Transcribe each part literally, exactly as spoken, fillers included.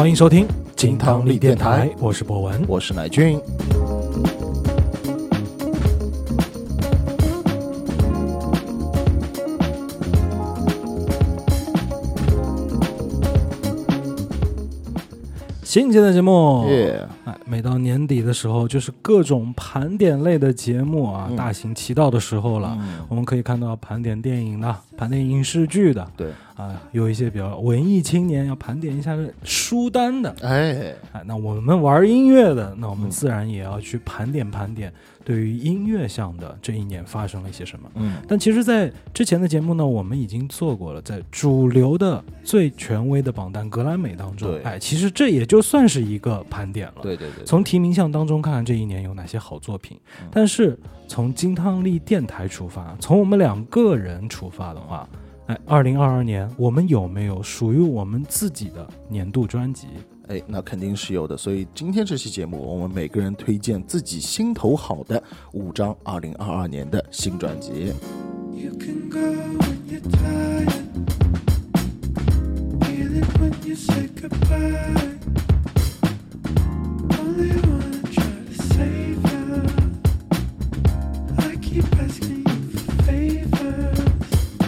欢迎收听金汤力电台，我是博文， 我是乃俊。 新一期的节目、 yeah. 哎，每到年底的时候，就是各种盘点类的节目啊， 嗯、 大行其道的时候了、嗯。我们可以看到盘点电影的，盘点影视剧的， 对啊，有一些比较文艺青年要盘点一下书单的， 哎哎，那我们玩音乐的，那我们自然也要去盘点盘点对于音乐项的这一年发生了一些什么。 嗯， 但其实，在之前的节目呢，我们已经做过了，在主流的最权威的榜单格莱美当中，哎，其实这也就算是一个盘点了。 对对 对, 对， 从提名项当中看看这一年有哪些好作品。嗯、但是从金汤力电台出发，从我们两个人出发的话，哎，二零二二年我们有没有属于我们自己的年度专辑？ 哎，那肯定是有的。所以今天这期节目，我们每个人推荐自己心头好的五张二零二二年的新专辑。You can go when you're tired, feel it when you say goodbye. Only wanna try to save you. I keep asking you for favors.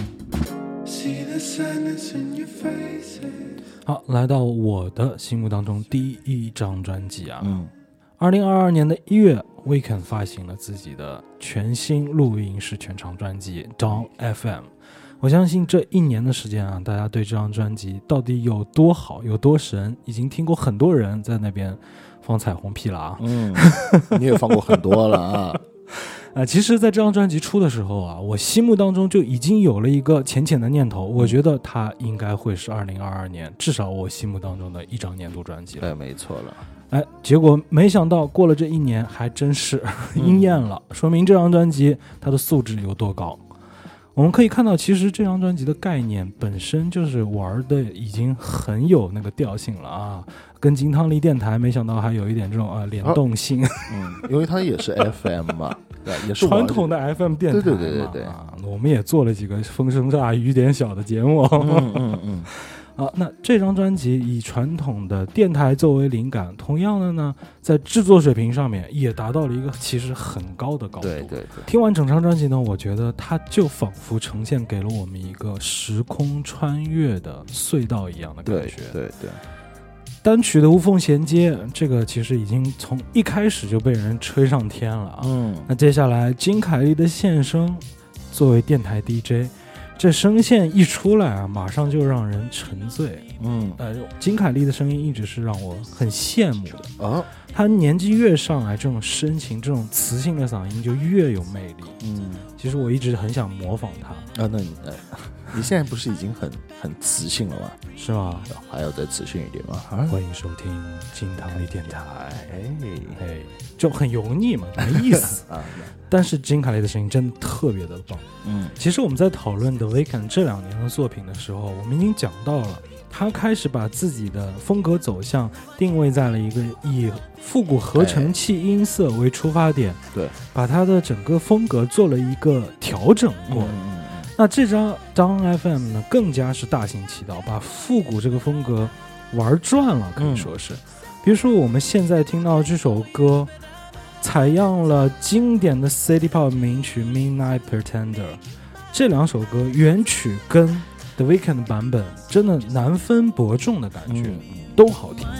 See the sadness in your faces. 好，来到我的心目当中第一张专辑啊， 嗯， 二零二二年的一月 ，Weeknd 发行了自己的全新录音室全长专辑《Dawn F M》。我相信这一年的时间啊，大家对这张专辑到底有多好、有多神，已经听过很多人在那边放彩虹屁了啊。 嗯，你也放过很多了啊。 呃，其实在这张专辑出的时候啊，我心目当中就已经有了一个浅浅的念头，我觉得它应该会是二零二二年至少我心目当中的一张年度专辑了。 哎，没错了。 哎，结果没想到过了这一年还真是应验了、嗯、说明这张专辑它的素质有多高。我们可以看到，其实这张专辑的概念本身就是玩的已经很有那个调性了啊，跟金汤力电台没想到还有一点这种啊联动性。 嗯，因为它也是 F M 嘛，对，也是传统的 F M 电台嘛。 对对对对对啊，我们也做了几个风声大雨点小的节目。 嗯嗯嗯。 啊，那这张专辑以传统的电台作为灵感，同样的呢，在制作水平上面也达到了一个其实很高的高度。 对对对。 听完整张专辑呢，我觉得它就仿佛呈现给了我们一个时空穿越的隧道一样的感觉。 对对对。 单曲的无缝衔接，这个其实已经从一开始就被人吹上天了啊。 嗯。那接下来金凯利的现身，作为电台 D J。这声线一出来啊，马上就让人沉醉。 嗯， 呃，金凯利的声音一直是让我很羡慕的啊。 他年纪越上来，这种深情、这种磁性的嗓音就越有魅力。 嗯， 其实我一直很想模仿他啊。那你，呃、你现在不是已经很很磁性了吗？ 是吗？ 还要再磁性一点吗？ 啊、欢迎收听金汤力电台。 哎哎，就很油腻嘛，没意思啊。但是金凯利的声音真的特别的棒。 嗯， 其实我们在讨论 The Weeknd 这两年的作品的时候，我们已经讲到了，他开始把自己的风格走向定位在了一个以复古合成器音色为出发点， 对， 把他的整个风格做了一个调整过。 嗯、 那这张 Dawn F M 呢，更加是大行其道，把复古这个风格玩转了，可以说是。嗯、比如说我们现在听到这首歌。采样了经典的 City Pop 名曲 Midnight Pretender， 这两首歌原曲跟 The Weeknd 版本真的难分伯仲的感觉、嗯、都好听。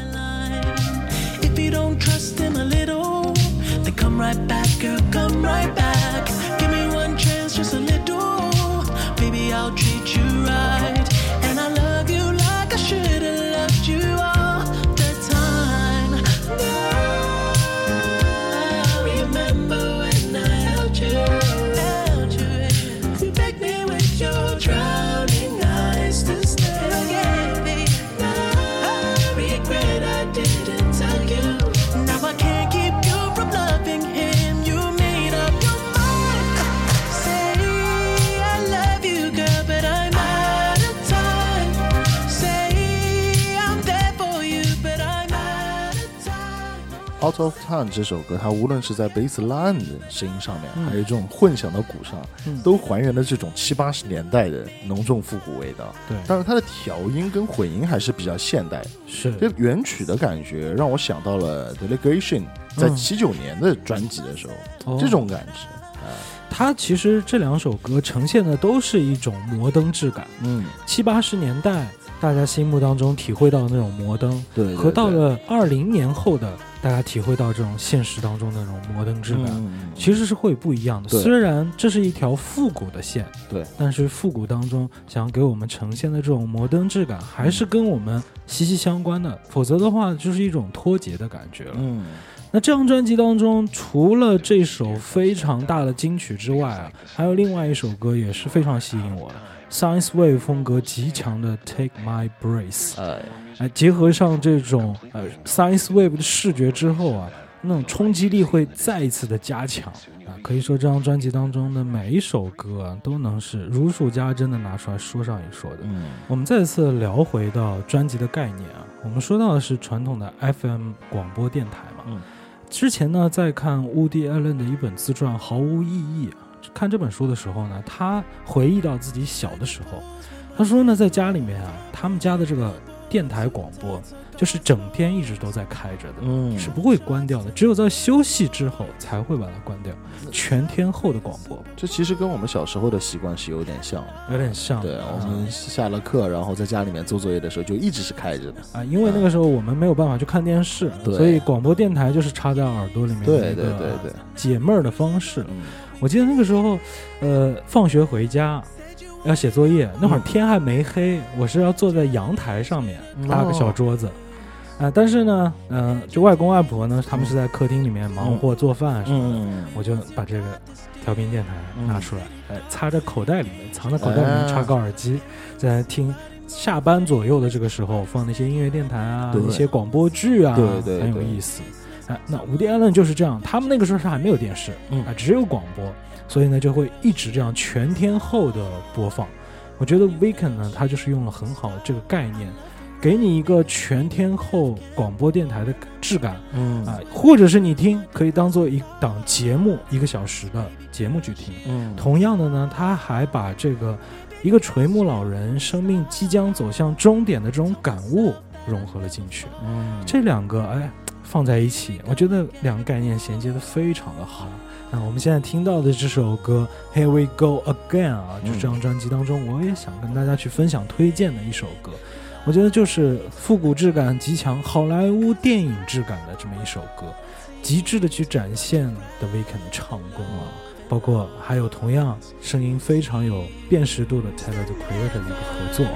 Out of Time 这首歌，它无论是在 bass line 的声音上面， 嗯还有这种混响的鼓上， 嗯都还原了这种七八十年代的浓重复古味道。 对， 但是它的调音跟混音还是比较现代的。 是这原曲的感觉让我想到了 Delegation 在七九年的专辑的时候， 哦这种感觉。 它其实这两首歌呈现的都是一种摩登质感， 嗯， 七八十年代大家心目当中体会到的那种摩登， 对对对， 和到了二零年后的大家体会到这种现实当中的那种摩登质感， 嗯、 其实是会不一样的。虽然这是一条复古的线， 对， 但是复古当中想给我们呈现的这种摩登质感，还是跟我们息息相关的，否则的话就是一种脱节的感觉了。 嗯。 那这张专辑当中，除了这首非常大的金曲之外啊，还有另外一首歌也是非常吸引我的 ，Science Wave 风格极强的 Take My Breath， 哎，哎，结合上这种呃 Science Wave 的视觉之后啊，那种冲击力会再一次的加强啊。可以说这张专辑当中的每一首歌啊，都能是如数家珍的拿出来说上一说的。 嗯， 我们再次聊回到专辑的概念啊，我们说到的是传统的 F M 广播电台嘛。 嗯。 之前呢，在看 Woody Allen 的一本自传《毫无意义》啊，看这本书的时候呢，他回忆到自己小的时候，他说呢，在家里面啊，他们家的这个电台广播就是整天一直都在开着的， 嗯， 是不会关掉的，只有在休息之后才会把它关掉，全天候的广播。 这其实跟我们小时候的习惯是有点像的， 有点像。 对，我们下了课，然后在家里面做作业的时候就一直是开着的啊，因为那个时候我们没有办法去看电视， 嗯、 所以广播电台就是插在耳朵里面的一个解闷儿的方式。 嗯、 我记得那个时候，呃，放学回家要写作业，那会儿天还没黑，嗯、我是要坐在阳台上面搭个小桌子。哦啊、呃，但是呢，嗯、呃，就外公外婆呢，他们是在客厅里面忙活做饭什么的， 嗯、 我就把这个调频电台拿出来，哎、嗯，插在口袋里面，藏在口袋里面，插个耳机，在听下班左右的这个时候放那些音乐电台啊，一些广播剧啊， 对对， 很有意思。哎、呃，那伍迪·艾伦就是这样，他们那个时候是还没有电视，嗯，啊、呃，只有广播，所以呢就会一直这样全天候的播放。我觉得 Weekend 呢，它就是用了很好的这个概念。给你一个全天候广播电台的质感，嗯啊、呃，或者是你听可以当做一档节目，一个小时的节目去听。嗯，同样的呢，他还把这个一个垂暮老人生命即将走向终点的这种感悟融合了进去。嗯，这两个哎放在一起，我觉得两个概念衔接的非常的好。那我们现在听到的这首歌 Here We Go Again 啊，就是这张专辑当中，我也想跟大家去分享推荐的一首歌。我觉得就是复古质感极强、好莱坞电影质感的这么一首歌，极致的去展现 The Weeknd 的唱功啊，包括还有同样声音非常有辨识度的 Tyler the Creator 的一个合作。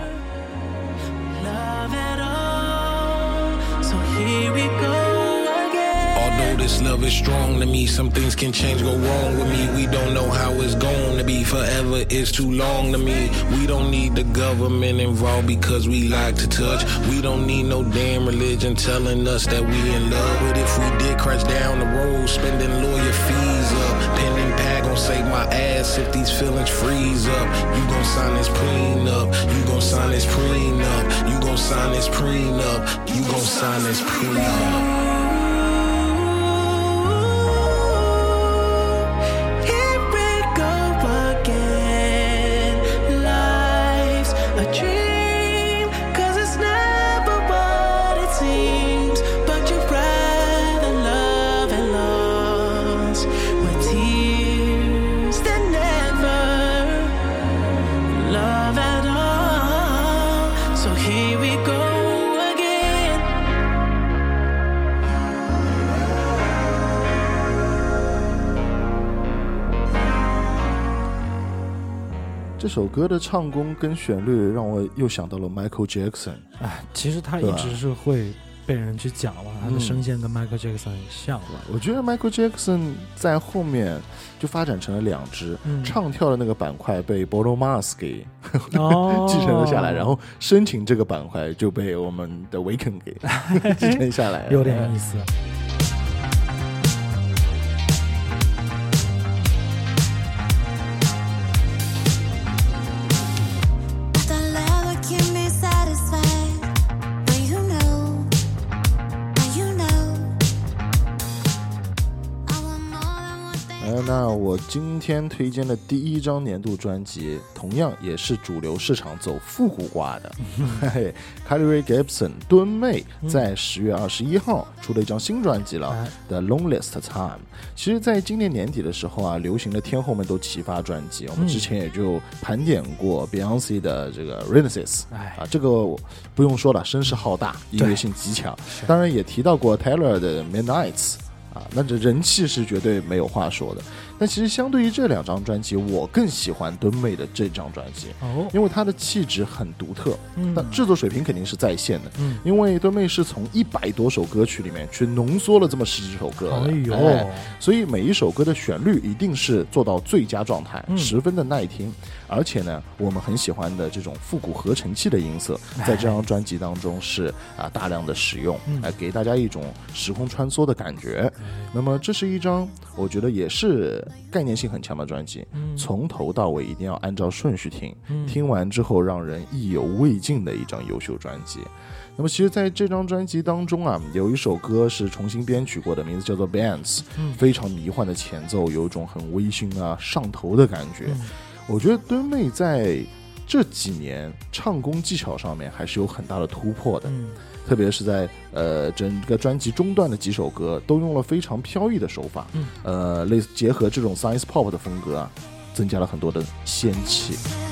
Although this love is strong to me, some things can change, go wrong with me. We don't know how it's going to be. Forever is too long to me. We don't need the government involved because we like to touch. We don't need no damn religion telling us that we in love. But if we did crash down the road, spending lawyer fees up, pen and pad gon' save my ass if these feelings freeze up. You gon' sign this prenup. You gon' sign this prenup. You gon' sign this prenup. You gon' sign this prenup. 这首歌的唱功跟旋律让我又想到了 Michael Jackson。 哎，其实他一直是会被人去讲嘛，他的声线跟 Michael Jackson 很像吧、 嗯。我觉得 Michael Jackson 在后面就发展成了两支，嗯、唱跳的那个板块被 Bruno Mars 给哦继承了下来，然后深情这个板块就被我们的 Weeknd 给继承下来， 有点意思。 那我今天推荐的第一张年度专辑，同样也是主流市场走复古挂的。嘿 Carly Rae Jepsen 敦妹在十月二十一号出了一张新专辑了、嗯、The Loneliest Time。其实，在今年年底的时候啊，流行的天后们都齐发专辑，我们之前也就盘点过 Beyonce 的这个 Renaissance、嗯、啊，这个不用说了，声势浩大，音乐性极强。当然也提到过 Taylor 的 Midnights。啊，那这人气是绝对没有话说的。但其实相对于这两张专辑，我更喜欢敦妹的这张专辑，哦，因为她的气质很独特，嗯，但制作水平肯定是在线的，嗯，因为敦妹是从一百多首歌曲里面去浓缩了这么十几首歌的，哎呦、哎，所以每一首歌的旋律一定是做到最佳状态，嗯、十分的耐听。而且呢，我们很喜欢的这种复古合成器的音色，在这张专辑当中是啊大量的使用，来、嗯、给大家一种时空穿梭的感觉。那么这是一张我觉得也是概念性很强的专辑，嗯、从头到尾一定要按照顺序听，嗯、听完之后让人意犹未尽的一张优秀专辑。那么其实在这张专辑当中啊，有一首歌是重新编曲过的，名字叫做 Bands、嗯、非常迷幻的前奏，有一种很微醺啊上头的感觉、嗯、我觉得敦妹在这几年唱功技巧上面还是有很大的突破的、嗯、特别是在呃整个专辑中段的几首歌都用了非常飘逸的手法、嗯、呃类似结合这种 science pop 的风格啊，增加了很多的仙气。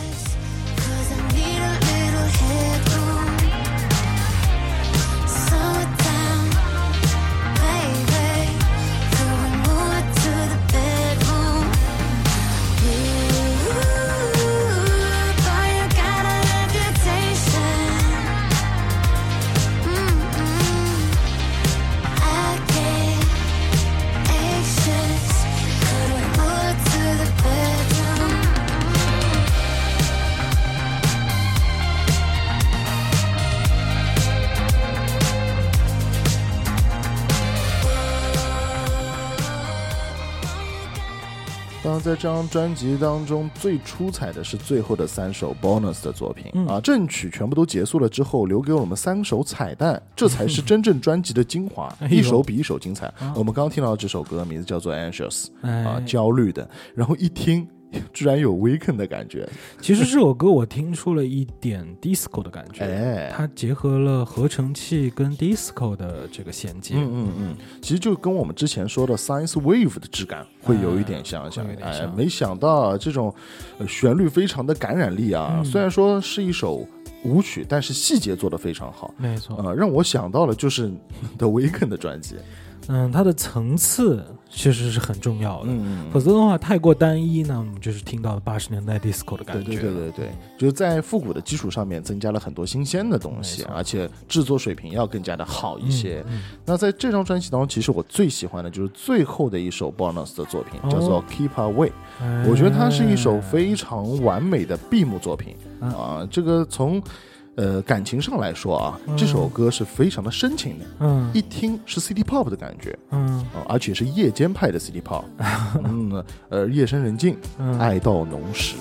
当然在这张专辑当中最出彩的是最后的三首 bonus 的作品、嗯、啊，正曲全部都结束了之后留给我们三首彩蛋，这才是真正专辑的精华、嗯、一首比一首精彩、哎、我们刚刚听到这首歌名字叫做 Anxious、哎、啊，焦虑的，然后一听居然有 Weekend 的感觉。 其实这首歌我听出了一点 disco 的感觉、哎、它结合了合成器跟 disco 的这个衔接。 嗯嗯嗯，其实就跟我们之前说的 Science Wave 的质感会有一点像，像、哎哎、没想到这种、呃、旋律非常的感染力啊、嗯、虽然说是一首舞曲，但是细节做得非常好， 没错、 呃、让我想到了就是 The Weeknd 的专辑。 嗯，它的层次其实是很重要的，嗯，否则的话太过单一呢，我们就是听到八十年代 disco 的感觉。 对对对对对，就是在复古的基础上面增加了很多新鲜的东西，而且制作水平要更加的好一些。嗯嗯、那在这张专辑当中，其实我最喜欢的就是最后的一首 bonus 的作品，哦、叫做 Keep Away、哎。我觉得它是一首非常完美的闭幕作品、哎、啊，这个从。呃，感情上来说啊、嗯，这首歌是非常的深情的，嗯，一听是 City Pop 的感觉，嗯，呃、而且是夜间派的 City Pop， 嗯，呃，夜深人静，嗯、爱到浓时。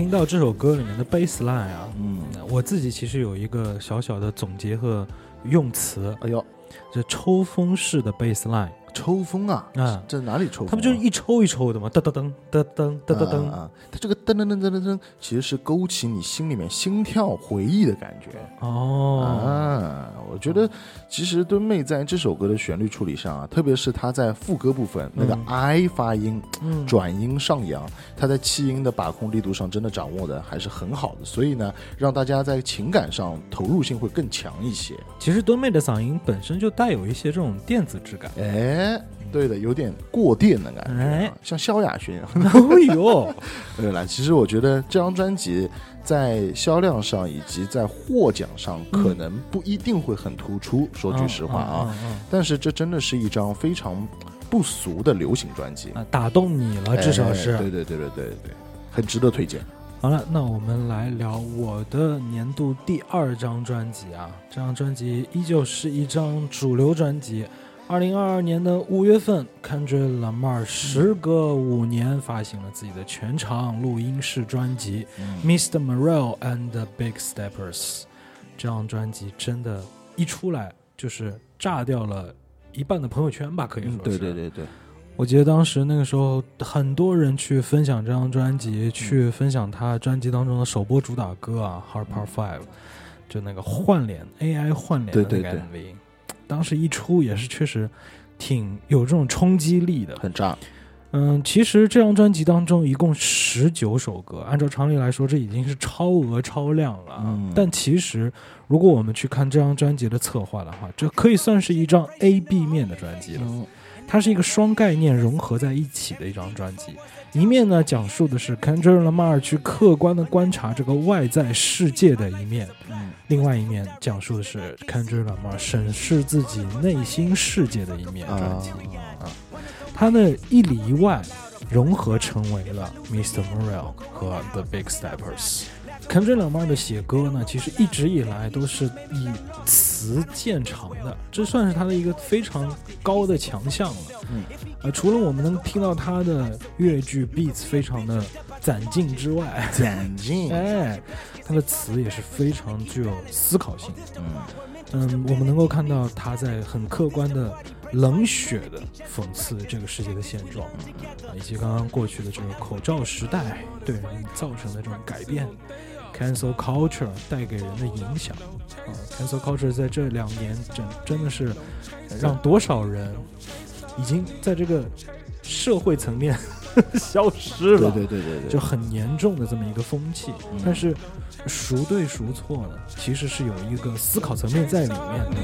听到这首歌里面的 bass line 啊， 嗯， 我自己其实有一个小小的总结和用词， 哎呦， 这抽风式的 bass line。 抽风啊， 啊， 这哪里抽风、啊？ 它不就是一抽一抽的吗？噔噔噔噔噔噔噔噔啊！它这个噔噔噔噔噔噔，其实是勾起你心里面心跳回忆的感觉。 哦啊，我觉得其实敦妹在这首歌的旋律处理上啊，特别是她在副歌部分、嗯、那个 I 发音、嗯、转音上扬，她在气音的把控力度上真的掌握的还是很好的，所以呢，让大家在情感上投入性会更强一些。 其实敦妹的嗓音本身就带有一些这种电子质感。 哎。哎，对的，有点过电的感觉、啊哎，像萧亚轩。 哎呦， 对了，其实我觉得这张专辑在销量上以及在获奖上可能不一定会很突出，嗯、说句实话啊、嗯嗯嗯嗯，但是这真的是一张非常不俗的流行专辑， 啊、打动你了，至少是。 哎、对对对对对对，很值得推荐。 好了，那我们来聊我的年度第二张专辑啊，这张专辑依旧是一张主流专辑。二零二二年的五月份 Kendrick Lamar 时隔五年发行了自己的全长录音室专辑、嗯、Mister Morale and the Big Steppers。 这张专辑真的一出来就是炸掉了一半的朋友圈吧，可以说是、嗯、 对对对对， 我记得当时那个时候很多人去分享这张专辑、嗯、去分享他专辑当中的首播主打歌啊 Hard Part Five、嗯、就那个换脸 A I 换脸的那个 M V， 对对对，当时一出也是确实挺有这种冲击力的， 很炸。 嗯，其实这张专辑当中一共十九首歌，按照常理来说这已经是超额超量了、嗯、但其实如果我们去看这张专辑的策划的话，这可以算是一张 A B 面的专辑了、嗯、它是一个双概念融合在一起的一张专辑。一面呢讲述的是 Kendrick Lamar 去客观的观察这个外在世界的一面、嗯、另外一面讲述的是 Kendrick Lamar 审视自己内心世界的一面专辑、啊啊、他的一里一外融合成为了 Mister Morale 和 The Big Steppers。 Kendrick Lamar 的写歌呢，其实一直以来都是以词见长的，这算是他的一个非常高的强项了。嗯，呃，除了我们能听到他的乐句 beats 非常的攒劲之外， 攒劲， 哎，他的词也是非常具有思考性。嗯嗯，我们能够看到他在很客观的冷血的讽刺这个世界的现状，啊，以及刚刚过去的这个口罩时代对人造成的这种改变。Cancel culture 带给人的影响、啊、Cancel culture 在这两年真真的是让多少人已经在这个社会层面消失了， 对对对对对， 就很严重的这么一个风气、嗯、但是孰对孰错呢，其实是有一个思考层面在里面的。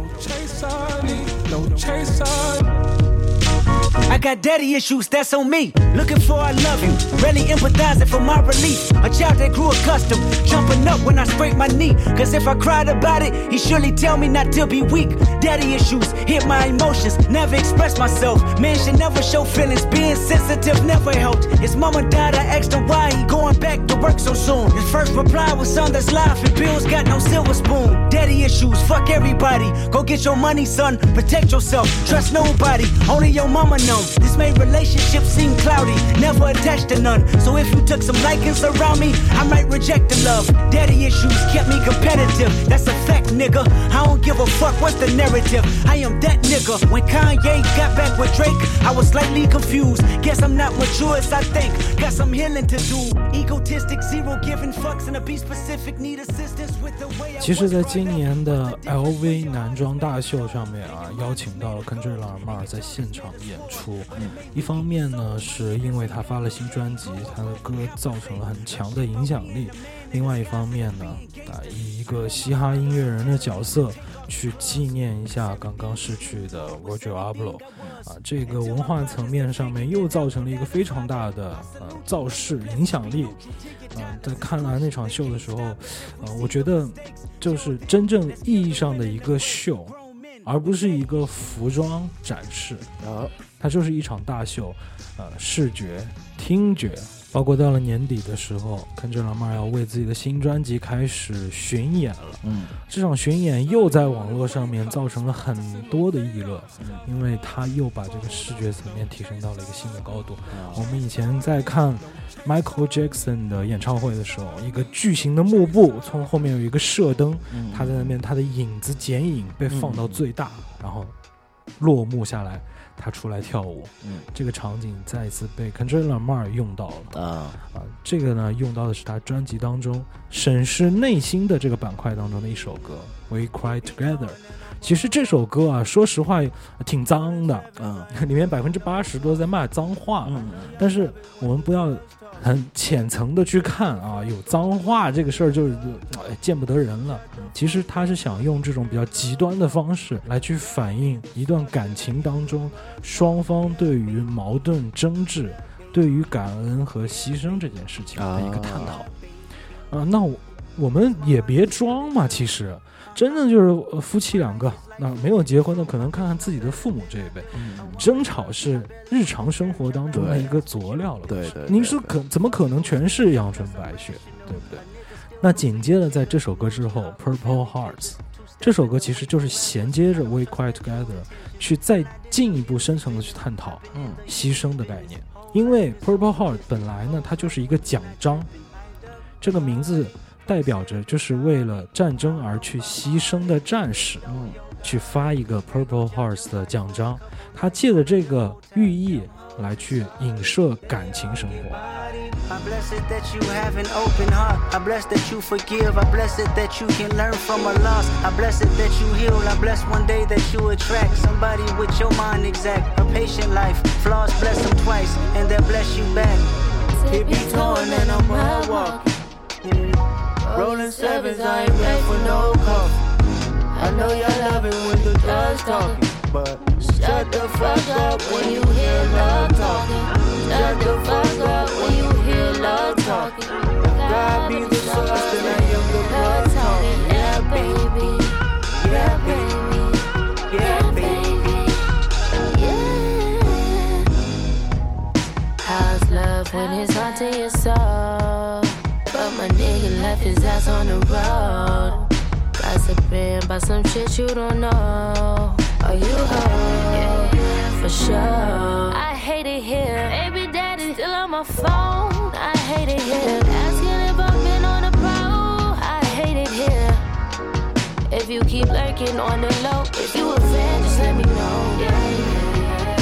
I got daddy issues, that's on me. Looking for I love you, rarely empathizing for my relief. A child that grew accustomed, jumping up when I scrape my knee. Cause if I cried about it, he surely tell me not to be weak. Daddy issues hit my emotions, never express myself. Man should never show feelings, being sensitive never helped. His mama died, I asked him why he going back to work so soon. His first reply was, son, that's life and bills got no silver spoon. Daddy issues, fuck everybody. Go get your money, son, protect yourself. Trust nobody, only your mama knows. This made relationships seem cloudy, never attached to none. So if you took some likings around me, I might reject the love. Daddy issues kept me competitive, that's a fact, nigga. I don't give a fuck what's the narrative, I am that nigga. When Kanye got back with Drake, I was slightly confused. Guess I'm not mature as I think, got some healing to do. Egotistic, zero giving fucks, and to be specific, need assistance with the way I... 其实在今年的 L V 男装大秀上面啊，邀请到了 Kendrick Lamar 在现场演出。嗯、一方面呢是因为他发了新专辑，他的歌造成了很强的影响力，另外一方面呢啊，以一个嘻哈音乐人的角色去纪念一下刚刚逝去的 Roger Abloh 啊，这个文化层面上面又造成了一个非常大的呃造势影响力。啊，在看完那场秀的时候，呃，我觉得就是真正意义上的一个秀，而不是一个服装展示啊，它就是一场大秀，呃，视觉、听觉包括到了年底的时候，Kendrick Lamar要为自己的新专辑开始巡演了。 嗯， 这场巡演又在网络上面造成了很多的议论，因为他又把这个视觉层面提升到了一个新的高度。我们以前在看 Michael Jackson 的演唱会的时候，一个巨型的幕布，从后面有一个射灯，他在那边他的影子剪影被放到最大，然后落幕下来，他出来跳舞，嗯，这个场景再一次被 Kendrick Lamar 用到了啊啊！这个呢，用到的是他专辑当中审视内心的这个板块当中的一首歌《We Cry Together》。其实这首歌啊，说实话挺脏的，嗯，里面百分之八十都在骂脏话，嗯，但是我们不要很浅层的去看啊，有脏话这个事儿就是、哎、见不得人了。其实他是想用这种比较极端的方式来去反映一段感情当中双方对于矛盾争执、对于感恩和牺牲这件事情的一个探讨。啊，啊那我我们也别装嘛，其实真的就是夫妻两个，那没有结婚的可能看看自己的父母这一辈，嗯、争吵是日常生活当中的一个佐料了。 对 对, 对, 对， 您是可怎么可能全是阳春白雪，对不对？那紧接着在这首歌之后 ，Purple Hearts 这首歌其实就是衔接着 We Cry Together 去再进一步深层的去探讨，嗯，牺牲的概念。因为 Purple Heart 本来呢，它就是一个奖章，这个名字代表着就是为了战争而去牺牲的战士，嗯，去发一个 Purple Hearts 的奖章，他借着这个寓意来去影射感情生活。 I bless it that you have an open heart. I bless that you forgive. I bless it that you can learn from a loss. I bless it that you heal. I bless one day that you attract somebody with your mind exact. A patient life, flaws bless them twice, and they'll bless you back. It be torn and I'm hard walking. Yeah. Rolling sevens, I ain't ready for no coffee. I know y'all love it when the dog's talking, but shut the fuck up when you hear love talking. Shut the fuck up when you hear love talking. God be the source, then I am the blood talking. Yeah, baby. Yeah, baby. Yeah, baby. Yeah. How's love when it's haunting your soul? But my nigga left his ass on the road. Gossiping about some shit you don't know. Are you home? Yeah, for sure. I hate it here. Baby daddy still on my phone. I hate it here. Asking if I've been on a pro. I hate it here. If you keep lurking on the low, if you a fan, just let me know. Yeah, yeah,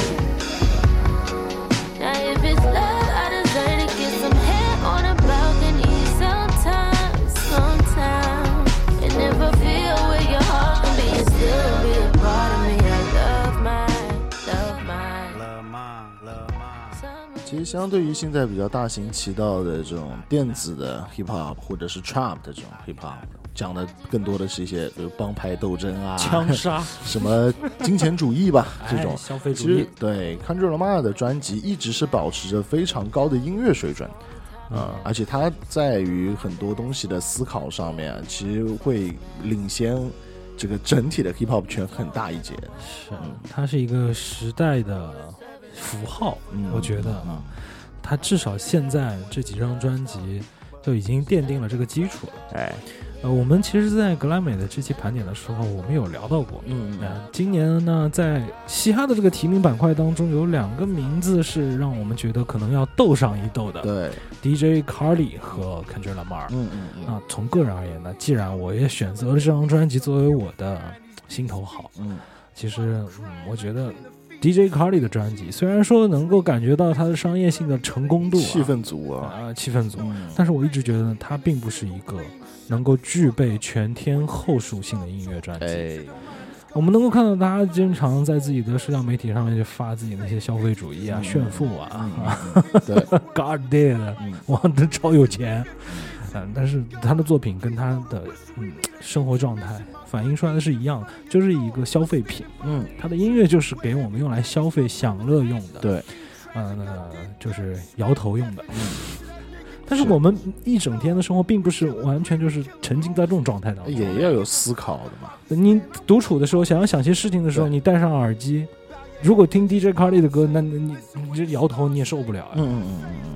yeah. Now if it's love, I deserve to get some hair on a balcony. Sometimes, sometimes. And if I feel where your heart can be, it still be a part of me. I love mine, love mine, love mine, love mine. 其实相对于现在比较大行其道的这种电子的 hip hop 或者是 trap 的这种 hip hop， 讲的更多的是一些比如帮派斗争啊、 枪杀、 什么金钱主义吧这种、 哎、消费主义。 其实对 Kendrick Lamar 的专辑一直是保持着非常高的音乐水准。呃、嗯，而且他在于很多东西的思考上面，其实会领先这个整体的 hip hop 圈很大一截。 是，嗯、它是一个时代的符号，嗯、我觉得啊、嗯，它至少现在这几张专辑就已经奠定了这个基础了。 哎， 呃，我们其实，在格莱美的这期盘点的时候，我们有聊到过。嗯，呃、今年呢，在嘻哈的这个提名板块当中，有两个名字是让我们觉得可能要斗上一斗的。 对 ，D J Khaled 和 Kendrick Lamar。嗯嗯嗯。那从个人而言呢，既然我也选择了这张专辑作为我的心头好，嗯，其实，嗯，我觉得 D J Khaled 的专辑虽然说能够感觉到它的商业性的成功度、啊， 气氛足啊， 啊、呃，气氛足、嗯，但是我一直觉得它并不是一个能够具备全天候属性的音乐专辑。 哎， 我们能够看到他经常在自己的社交媒体上面就发自己那些消费主义啊、嗯、炫富啊，嗯嗯、对 ，God damn， 我的超有钱。嗯，但是他的作品跟他的嗯生活状态反映出来的是一样的，就是一个消费品。嗯，他的音乐就是给我们用来消费享乐用的。 对， 嗯、呃，就是摇头用的。嗯，但是我们一整天的生活并不是完全就是沉浸在这种状态当中， 也要有思考的嘛。 你独处的时候，想要想些事情的时候，你戴上耳机，如果听 D J Khaled 的歌，那你你这摇头你也受不了、啊。 嗯嗯嗯嗯。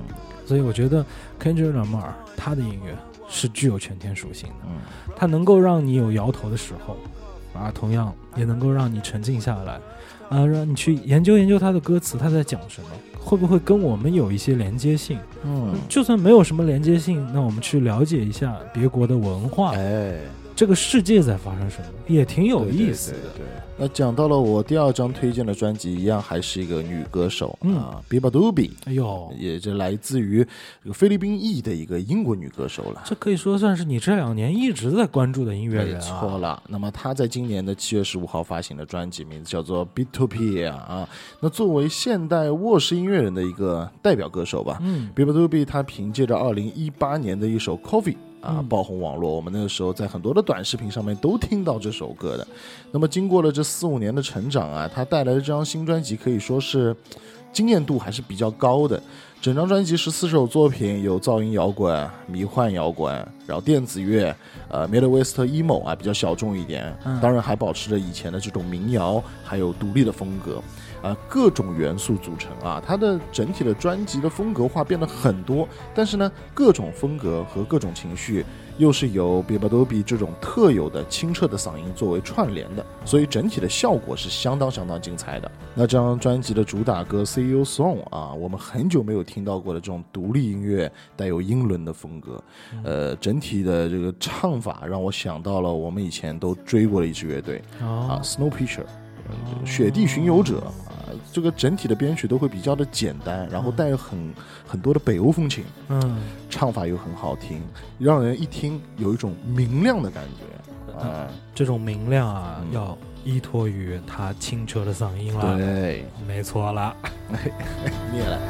所以我觉得 Kendrick Lamar 他的音乐是具有全天属性的， 嗯， 它能够让你有摇头的时候，啊，同样也能够让你沉静下来，啊，让你去研究研究他的歌词，他在讲什么，会不会跟我们有一些连接性？ 嗯， 就算没有什么连接性，那我们去了解一下别国的文化， 哎， 这个世界在发生什么，也挺有意思的。 对对对对，那讲到了我第二张推荐的专辑，一样还是一个女歌手、 嗯、 啊 ，Biba Doobie， 哎呦， 也是来自于这个菲律宾裔的一个英国女歌手了。 这可以说算是你这两年一直在关注的音乐人啊。 没错了。那么她在今年的七月十五号发行的专辑名字叫做 Beatopia 啊。那作为现代卧室音乐人的一个代表歌手吧， 嗯 ，Biba Doobie 她凭借着二零一八年的一首 Coffee。啊， 嗯爆红网络，我们那个时候在很多的短视频上面都听到这首歌的。那么经过了这四五年的成长啊，他带来的这张新专辑可以说是惊艳度还是比较高的。整张专辑十四首作品，有噪音摇滚、迷幻摇滚，然后电子乐，呃 Midwest emo 啊比较小众一点， 嗯、 当然还保持着以前的这种民谣，还有独立的风格。啊、呃，各种元素组成啊，它的整体的专辑的风格化变得很多，但是呢，各种风格和各种情绪又是由 Biba Doobie 这种特有的清澈的嗓音作为串联的，所以整体的效果是相当相当精彩的。那这张专辑的主打歌 C E O Song 啊，我们很久没有听到过的这种独立音乐带有英伦的风格，呃，整体的这个唱法让我想到了我们以前都追过的一支乐队、 哦、 啊 Snowpiercer。雪地巡游者啊，这个整体的编曲都会比较的简单，然后带有很很多的北欧风情， 嗯， 唱法又很好听，让人一听有一种明亮的感觉啊、嗯。 这种明亮啊， 嗯、 要依托于他清澈的嗓音了。 对， 没错了， 灭了。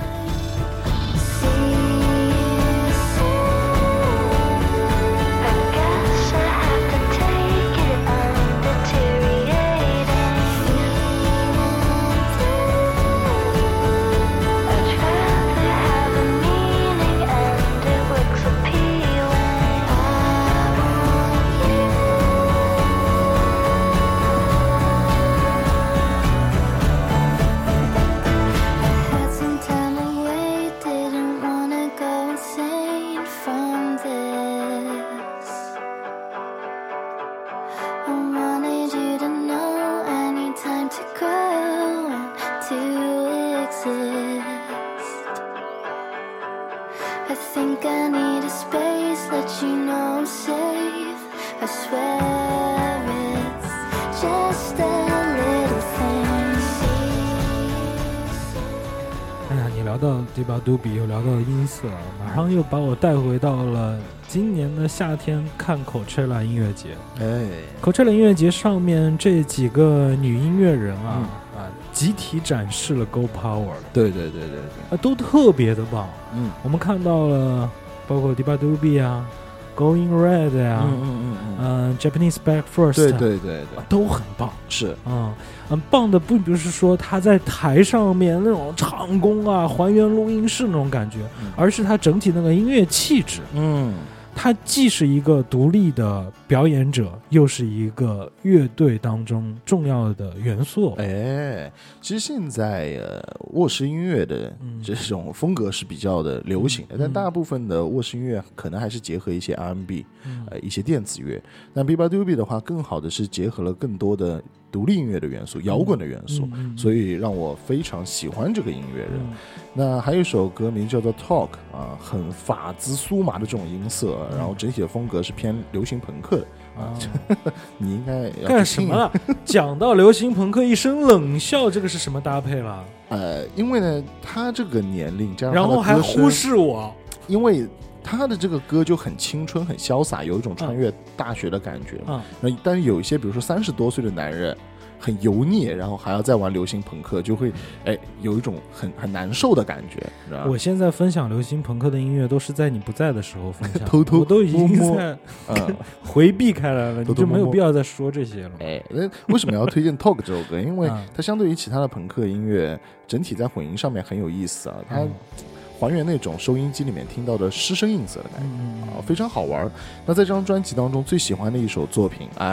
Biba Doobie 又聊到了音色，马上又把我带回到了今年的夏天看 Coachella 音乐节。 哎 ，Coachella 音乐节上面这几个女音乐人啊、 嗯、 啊，集体展示了 Go Power。 对对对对对， 啊，都特别的棒。 嗯， 我们看到了，包括 Biba Doobie 啊 ，Going Red 呀、啊， 嗯嗯嗯嗯， 呃 Japanese Back First， 对对对对， 都很棒。 是， 嗯。很棒的，并不是说他在台上面那种唱功啊，还原录音室那种感觉， 嗯、 而是他整体那个音乐气质。 嗯， 他既是一个独立的表演者，又是一个乐队当中重要的元素。 哎，其实现在呃卧室音乐的这种风格是比较的流行的，嗯、但大部分的卧室音乐可能还是结合一些 R and B，、嗯、呃一些电子乐。那 Biba Doobie 的话，更好的是结合了更多的独立音乐的元素，摇滚的元素、嗯嗯嗯、所以让我非常喜欢这个音乐人、嗯、那还有一首歌名叫做 Talk 啊，很法兹苏麻的这种音色、嗯、然后整体的风格是偏流行朋克的啊、哦、你应该要干什么了讲到流行朋克一声冷笑，这个是什么搭配了？ 呃，因为呢他这个年龄加上然后还忽视我， 因为他的这个歌就很青春很潇洒，有一种穿越大学的感觉、嗯嗯、但是有一些比如说三十多岁的男人很油腻，然后还要再玩流行朋克，就会哎有一种很很难受的感觉。 我现在分享流行朋克的音乐都是在你不在的时候分享， 偷偷我都已经在嗯回避开来了，你就没有必要再说这些了。 哎，那为什么要推荐 Talk 这首歌？因为它相对于其他的朋克音乐，整体在混音上面很有意思啊，它、嗯还原那种收音机里面听到的失声音色的感觉、嗯、啊，非常好玩。那在这张专辑当中最喜欢的一首作品，哎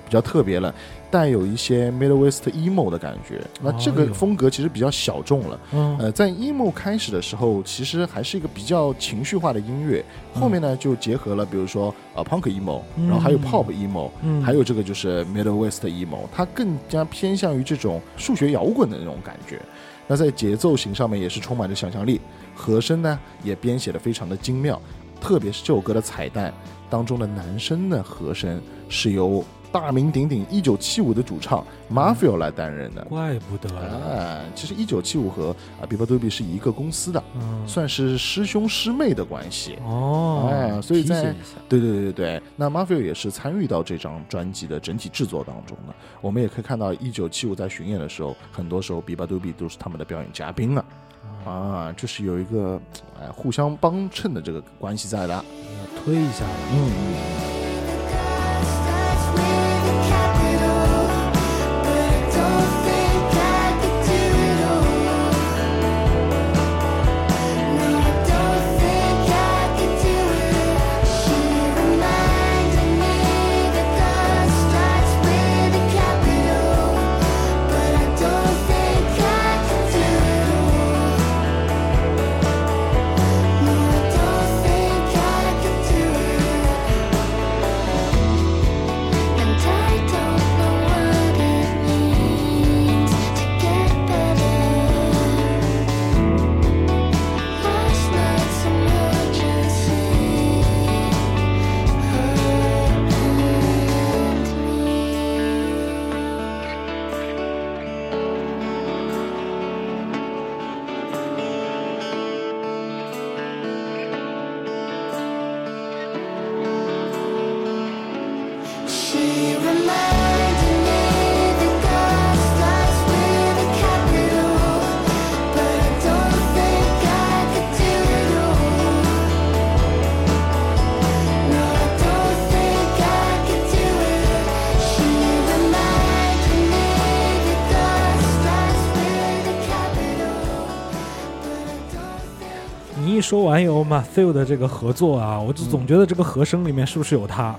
比较特别了，带有一些 Midwest emo 的感觉。那这个风格其实比较小众了。 嗯、 呃，在 emo 开始的时候，其实还是一个比较情绪化的音乐，后面呢就结合了，比如说呃 punk emo，、嗯、然后还有 pop emo，、嗯、还有这个就是 Midwest emo， 它更加偏向于这种数学摇滚的那种感觉。那在节奏型上面也是充满着想象力，和声呢也编写的非常的精妙，特别是这首歌的彩蛋当中的男声的和声是由大名鼎鼎一九七五的主唱 Mafio 来担任的。 怪不得啊！其实一九七五和啊 Biba Doobie 是一个公司的、嗯，算是师兄师妹的关系哦。 啊，所以在对对对对，那 Mafio 也是参与到这张专辑的整体制作当中的。我们也可以看到一九七五在巡演的时候，很多时候 Biba Doobie 都是他们的表演嘉宾了。啊，这是有一个哎互相帮衬的这个关系在的， 推一下， 嗯嗯。 一说完有 Matthew 的这个合作啊，我就总觉得这个和声里面是不是有他？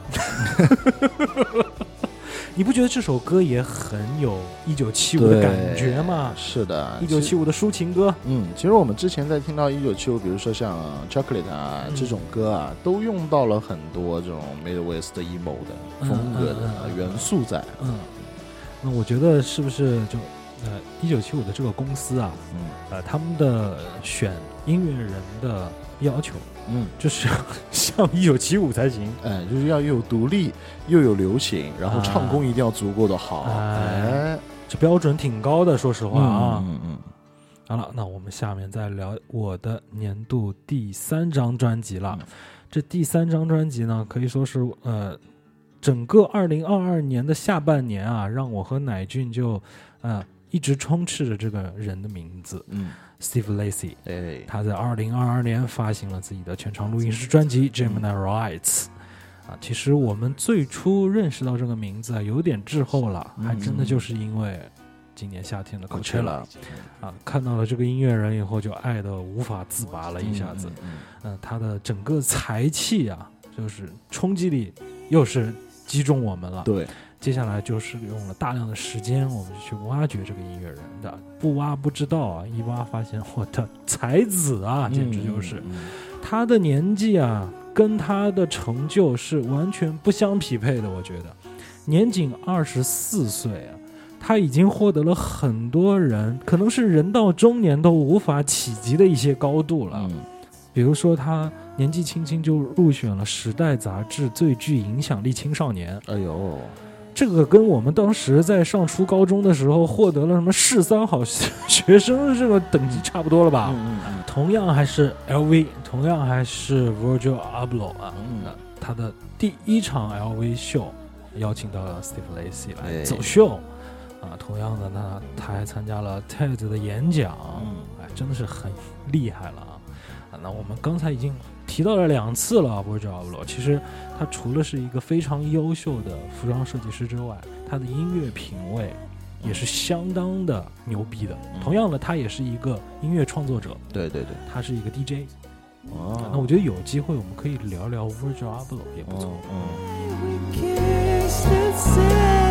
你不觉得这首歌也很有一九七五的感觉吗？ 是的， 一九七五的抒情歌。 嗯，其实我们之前在听到一九七五，比如说像 Chocolate 啊、嗯、这种歌啊，都用到了很多这种 Midwest emo 的风格的元素在。 嗯，那我觉得是不是就呃一九七五的这个公司啊，嗯，呃他们的选音乐人的要求，嗯，就是像一九七五才行， 哎，就是要又有独立又有流行，然后唱功一定要足够的好， 哎，哎这标准挺高的，说实话啊。 嗯嗯嗯。 好了，那我们下面再聊我的年度第三张专辑了。嗯、这第三张专辑呢，可以说是呃，整个二零二二年的下半年啊，让我和乃俊就呃一直充斥着这个人的名字。嗯。Steve Lacy， 哎，他在二零二二年发行了自己的全长录音室专辑《Gemini Rights》。啊，其实我们最初认识到这个名字啊，有点滞后了，还真的就是因为今年夏天的 Coachella，啊，看到了这个音乐人以后，就爱得无法自拔了，一下子。嗯，嗯呃、他的整个才气啊，就是冲击力又是击中我们了。 对。 接下来就是用了大量的时间，我们就去挖掘这个音乐人的，不挖不知道啊，一挖发现我的才子啊，简直就是、嗯嗯、他的年纪啊，跟他的成就是完全不相匹配的。我觉得年仅二十四岁啊，他已经获得了很多人可能是人到中年都无法企及的一些高度了。嗯、比如说他年纪轻轻就入选了《时代》杂志最具影响力青少年。 哎呦！ 这个跟我们当时在上初高中的时候获得了什么市三好学生这个等级差不多了吧？嗯嗯、同样还是 L V， 同样还是 Virgil Abloh 啊、嗯，他的第一场 L V 秀邀请到了 Steve Lacy 来走秀、哎、啊，同样的呢，他还参加了 T E D 的演讲，嗯、哎，真的是很厉害了啊！啊，那我们刚才已经提到了两次了 Virgil Abloh， 其实他除了是一个非常优秀的服装设计师之外，他的音乐品味也是相当的牛逼的、嗯、同样的他也是一个音乐创作者， 对对对， 他是一个 D J。哦，那我觉得有机会我们可以聊聊 Virgil Abloh 也不错。哦嗯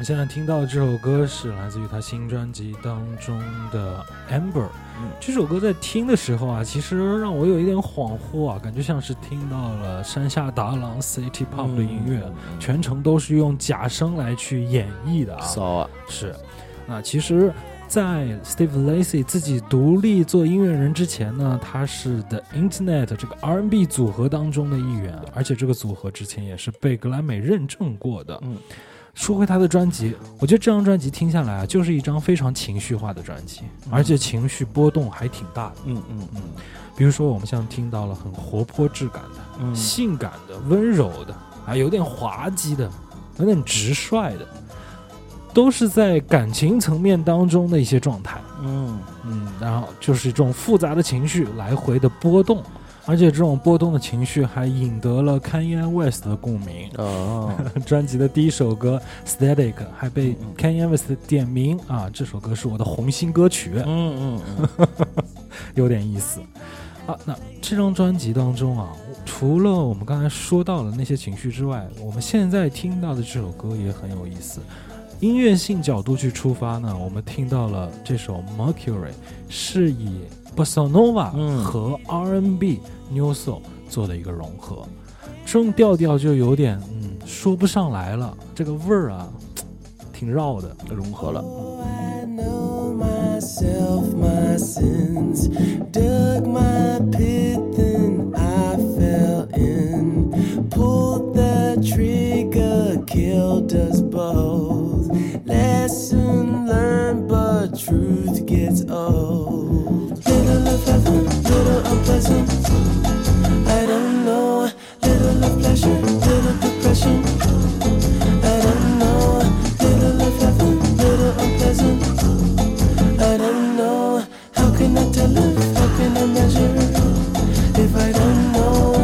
们现在听到的这首歌是来自于他新专辑当中的 Amber、嗯、这首歌在听的时候啊，其实让我有一点恍惚啊，感觉像是听到了山下达郎 City Pop 的音乐、嗯嗯、全程都是用假声来去演绎的啊。 骚啊， 是。那其实在 Steve Lacy 自己独立做音乐人之前呢，他是 The Internet 这个 R and B 组合当中的一员，而且这个组合之前也是被格莱美认证过的。嗯，说回他的专辑，我觉得这张专辑听下来啊，就是一张非常情绪化的专辑，而且情绪波动还挺大的。嗯嗯嗯，比如说我们像听到了很活泼质感的、嗯、性感的、温柔的，啊，有点滑稽的，有点直率的。都是在感情层面当中的一些状态，嗯嗯，然后就是这种复杂的情绪来回的波动，而且这种波动的情绪还引得了 Kanye West 的共鸣。哦，专辑的第一首歌 Static 还被 Kanye West 点名啊，这首歌是我的红心歌曲。嗯嗯嗯，有点意思啊。那这张专辑当中啊，除了我们刚才说到的那些情绪之外，我们现在听到的这首歌也很有意思。音乐性角度去出发呢，我们听到了这首 Mercury 是以 Bossa Nova 和 R and B、New Soul 做的一个融合，这种调调就有点嗯说不上来了，这个味儿啊挺绕的，融合了。Killed us both. Lesson learned, but truth gets old. Little of heaven, little unpleasant. I don't know. Little of pleasure, little depression. I don't know. Little of heaven, little unpleasant. I don't know. How can I tell if? How can I measure if I don't know?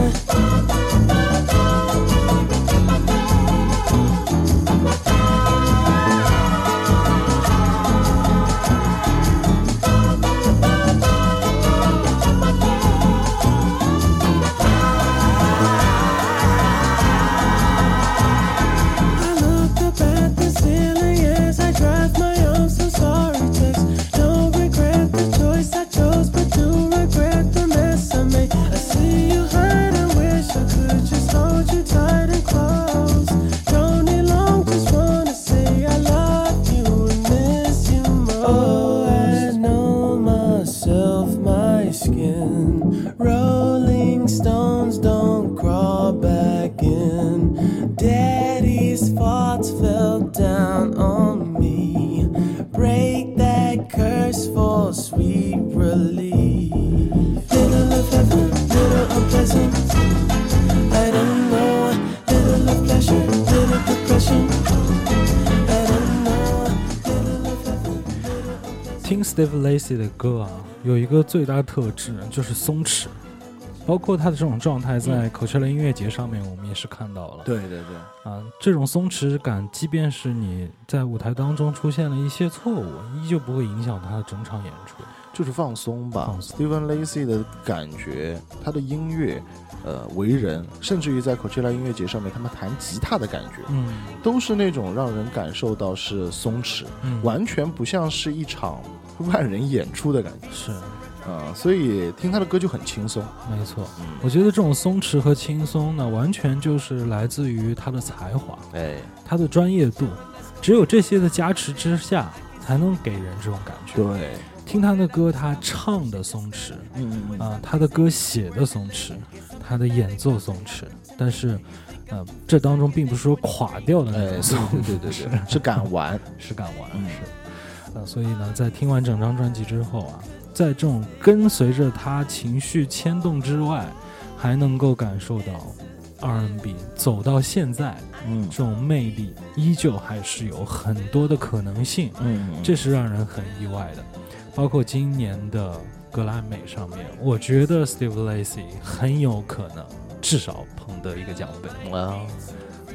Steve Lacy 的歌啊，有一个最大的特质就是松弛，包括他的这种状态在 Coachella 音乐节上面我们也是看到了。对对对，啊，这种松弛感，即便是你在舞台当中出现了一些错误，依旧不会影响他的整场演出， 就是放松吧。Steve Lacy 的感觉，他的音乐，呃，为人，甚至于在 Coachella 音乐节上面，他们弹吉他的感觉，嗯，都是那种让人感受到是松弛，嗯，完全不像是一场万人演出的感觉。是。啊，所以听他的歌就很轻松。 没错、嗯、我觉得这种松弛和轻松呢，完全就是来自于他的才华，哎，他的专业度，只有这些的加持之下才能给人这种感觉。 对， 听他的歌，他唱的松弛，嗯嗯啊，他的歌写的松弛，他的演奏松弛，但是呃，这当中并不是说垮掉的那种松弛、 哎、对对对对，是敢玩是敢玩、嗯、是呃，所以呢，在听完整张专辑之后啊，在这种跟随着他情绪牵动之外，还能够感受到 R and B 走到现在，嗯，这种魅力依旧还是有很多的可能性，嗯，这是让人很意外的。包括今年的格莱美上面，我觉得 Steve Lacy 很有可能至少捧得一个奖杯。哇、wow. 呃，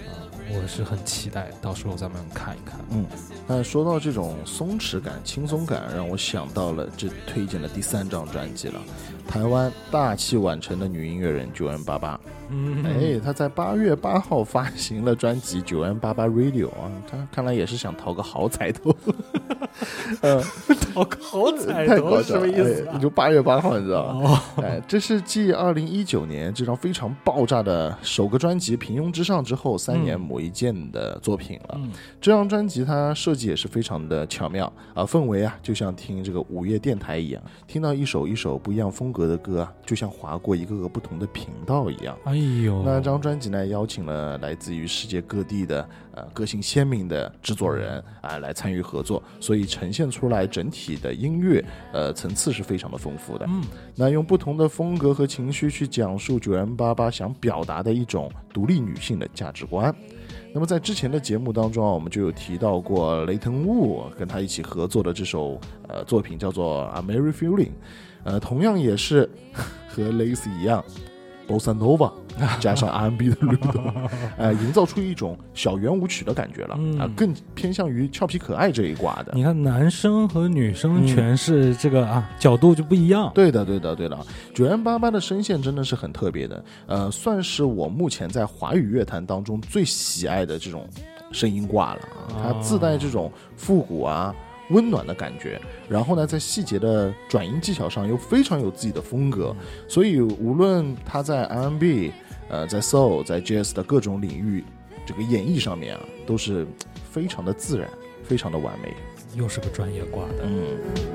我是很期待，到时候咱们看一看。 嗯，那说到这种松弛感、轻松感，让我想到了这推荐的第三张专辑了，台湾大器晚成的女音乐人九 N 八八。 嗯， 哎，她在八月八号发行了专辑《九 N 八八 Radio》啊，她看来也是想讨个好彩头。呃， 讨个好彩太头是什搞笑了， 么意思、啊哎？就八月八号，你知道吗？ 哦， 哎，这是继二零一九年这张非常爆炸的首个专辑《平庸之上》之后三年磨一剑的作品了。 嗯、 这张专辑它设计也是非常的巧妙啊，氛围啊就像听这个午夜电台一样，听到一首一首不一样风格的歌啊，就像划过一个个不同的频道一样。 哎呦， 那张专辑呢，邀请了来自于世界各地的呃个性鲜明的制作人啊来参与合作，所以呈现出来整体的音乐呃层次是非常的丰富的。 嗯， 那用不同的风格和情绪去讲述九 N 八八想表达的一种独立女性的价值观。那么在之前的节目当中啊，我们就有提到过雷腾雾跟他一起合作的这首呃作品叫做 A Merry Feeling， 呃，同样也是和 Lace 一样Bossa Nova 加上 R and B 的律动，呃，营造出一种小圆舞曲的感觉了，啊、 嗯呃，更偏向于俏皮可爱这一挂的。 你看男生和女生诠释这个、嗯、啊角度就不一样。 对的，对的，对的。九 N 八八的声线真的是很特别的，呃，算是我目前在华语乐坛当中最喜爱的这种声音挂了啊，它自带这种复古啊。温暖的感觉，然后呢，在细节的转音技巧上又非常有自己的风格，所以无论他在 R and B、呃，在 Soul、在 Jazz 的各种领域，这个演绎上面啊，都是非常的自然，非常的完美。 又是个专业挂的， 嗯。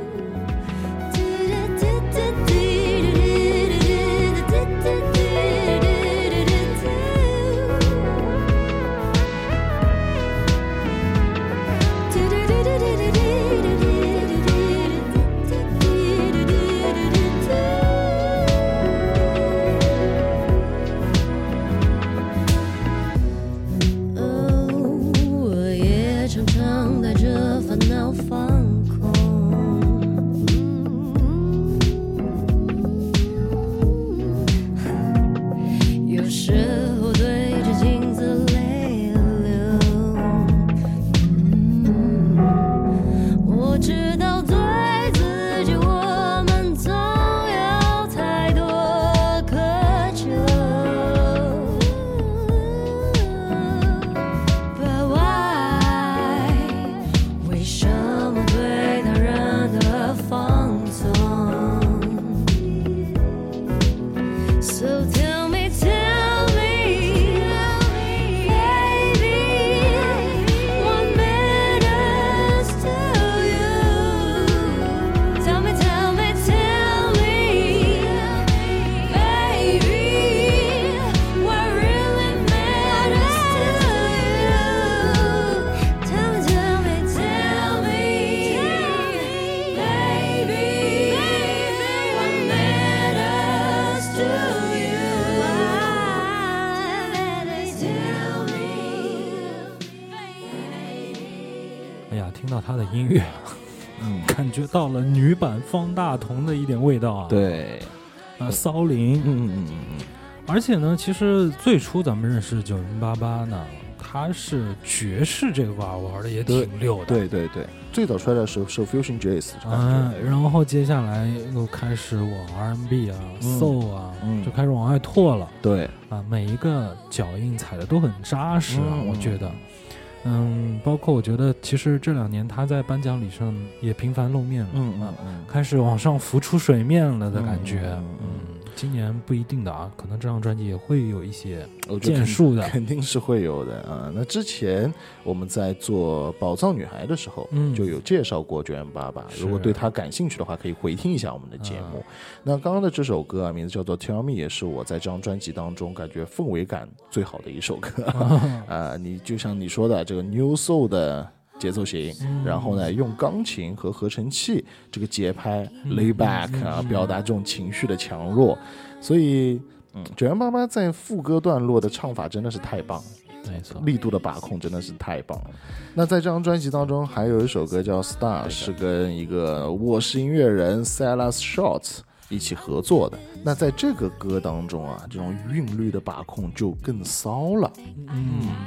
他的音乐，嗯，感觉到了女版方大同的一点味道啊。 对， 呃，骚灵， 嗯嗯嗯嗯。 而且呢，其实最初咱们认识九零八八呢，他是爵士这个挂玩的也挺溜的。 对对对，最早出来的时候是 Fusion Jazz， 嗯，然后接下来又开始往 R and B 啊、嗯、Soul 啊、嗯，就开始往外拓了。 对啊，每一个脚印踩的都很扎实啊， 嗯、 我觉得。嗯，包括我觉得，其实这两年他在颁奖礼上也频繁露面了， 嗯嗯嗯， 开始往上浮出水面了的感觉。 嗯，嗯嗯今年不一定的啊，可能这张专辑也会有一些建树的， 肯定是会有的啊。那之前我们在做宝藏女孩的时候，嗯，就有介绍过九 N 八八，如果对他感兴趣的话，可以回听一下我们的节目。嗯、那刚刚的这首歌啊，名字叫做 Tell Me， 也是我在这张专辑当中感觉氛围感最好的一首歌啊、呃。你就像你说的这个 New Soul 的节奏型、嗯，然后呢，用钢琴和合成器这个节拍、嗯、lay back 啊、嗯，表达这种情绪的强弱。所以，嗯，九 N 八八在副歌段落的唱法真的是太棒了， 没错， 力度的把控真的是太棒了。那在这张专辑当中，还有一首歌叫《Star》，是跟一个卧室音乐人 Silas Short 一起合作的。那在这个歌当中啊，这种韵律的把控就更骚了。 嗯。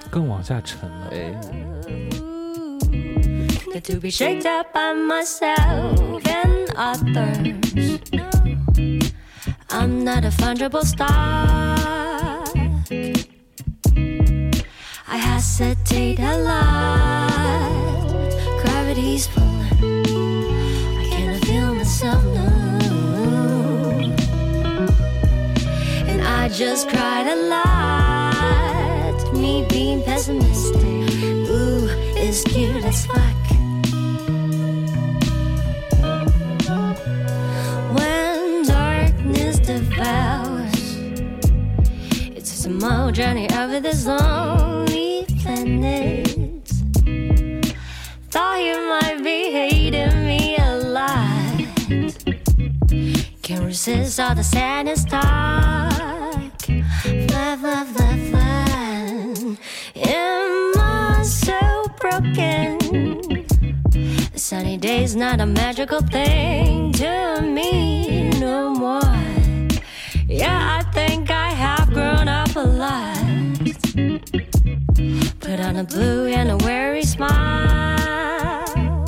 更往下沉了。 哎， To be shaped up by myself and others. I'm not a fungible stock. I hesitate a lot. Gravity's pulling. I cannot feel myself, no. And I just cried a lot. Me being pessimistic. Ooh, it's cute as fuck. It's a small journey over this lonely planet. Thought you might be hating me a lot. Can't resist all the sadness talk. Fly, fly, fly, fly. Am I so broken? The sunny day's not a magical thing to me no more. Yeah, I think I have grown up a lot. Put on a blue and a weary smile,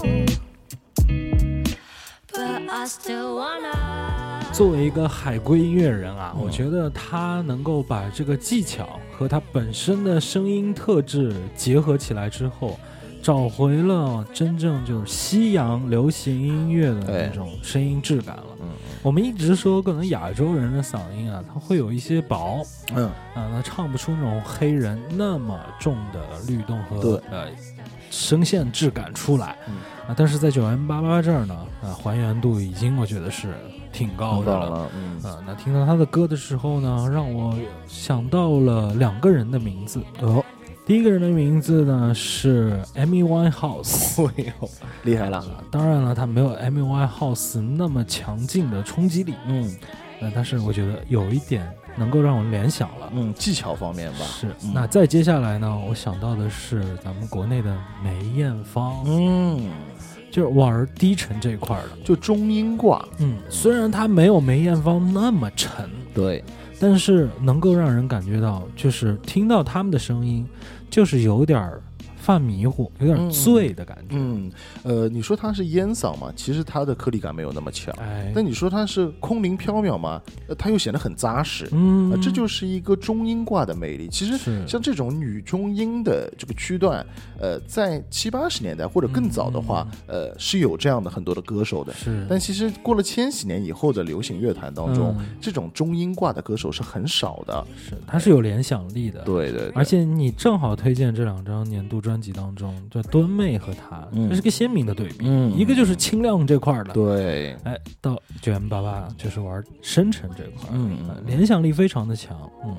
but I still wanna. 作为一个海归音乐人啊，我觉得他能够把这个技巧和他本身的声音特质结合起来之后，找回了真正就是西洋流行音乐的那种声音质感了。 嗯， 我们一直说可能亚洲人的嗓音啊，它会有一些薄， 嗯啊，他唱不出那种黑人那么重的律动和对呃声线质感出来。 嗯啊，但是在九 M 八八这儿呢，啊，还原度已经我觉得是挺高的了。 了，嗯啊，那听到他的歌的时候呢，让我想到了两个人的名字。 哦， 第一个人的名字呢是 Amy Winehouse， 哎呦，厉害了， 当然了，他没有 Amy Winehouse 那么强劲的冲击力， 嗯呃，但是我觉得有一点能够让我联想了。 嗯，技巧方面吧， 是， 嗯那再接下来呢，我想到的是咱们国内的梅艳芳， 嗯， 就是玩低沉这一块的。 就中音挂， 嗯，虽然她没有梅艳芳那么沉， 对， 但是能够让人感觉到，就是听到他们的声音，就是有点犯迷糊，有点醉的感觉。 嗯，呃，你说它是烟嗓嘛，其实它的颗粒感没有那么强。 哎， 但你说它是空灵飘渺嘛，呃，它又显得很扎实。 嗯、 呃，这就是一个中音挂的魅力。其实是像这种女中音的这个区段，呃，在七八十年代或者更早的话， 嗯、 呃，是有这样的很多的歌手的。 是， 但其实过了千禧年以后的流行乐坛当中， 嗯、 这种中音挂的歌手是很少的。 是，它是有联想力的。 对对对， 而且你正好推荐这两张年度专辑当中，就敦妹和她， 嗯这是个鲜明的对比。 嗯， 一个就是清亮这块的， 对， 哎，到九 M 八八就是玩深沉这块， 嗯呃联想力非常的强，嗯。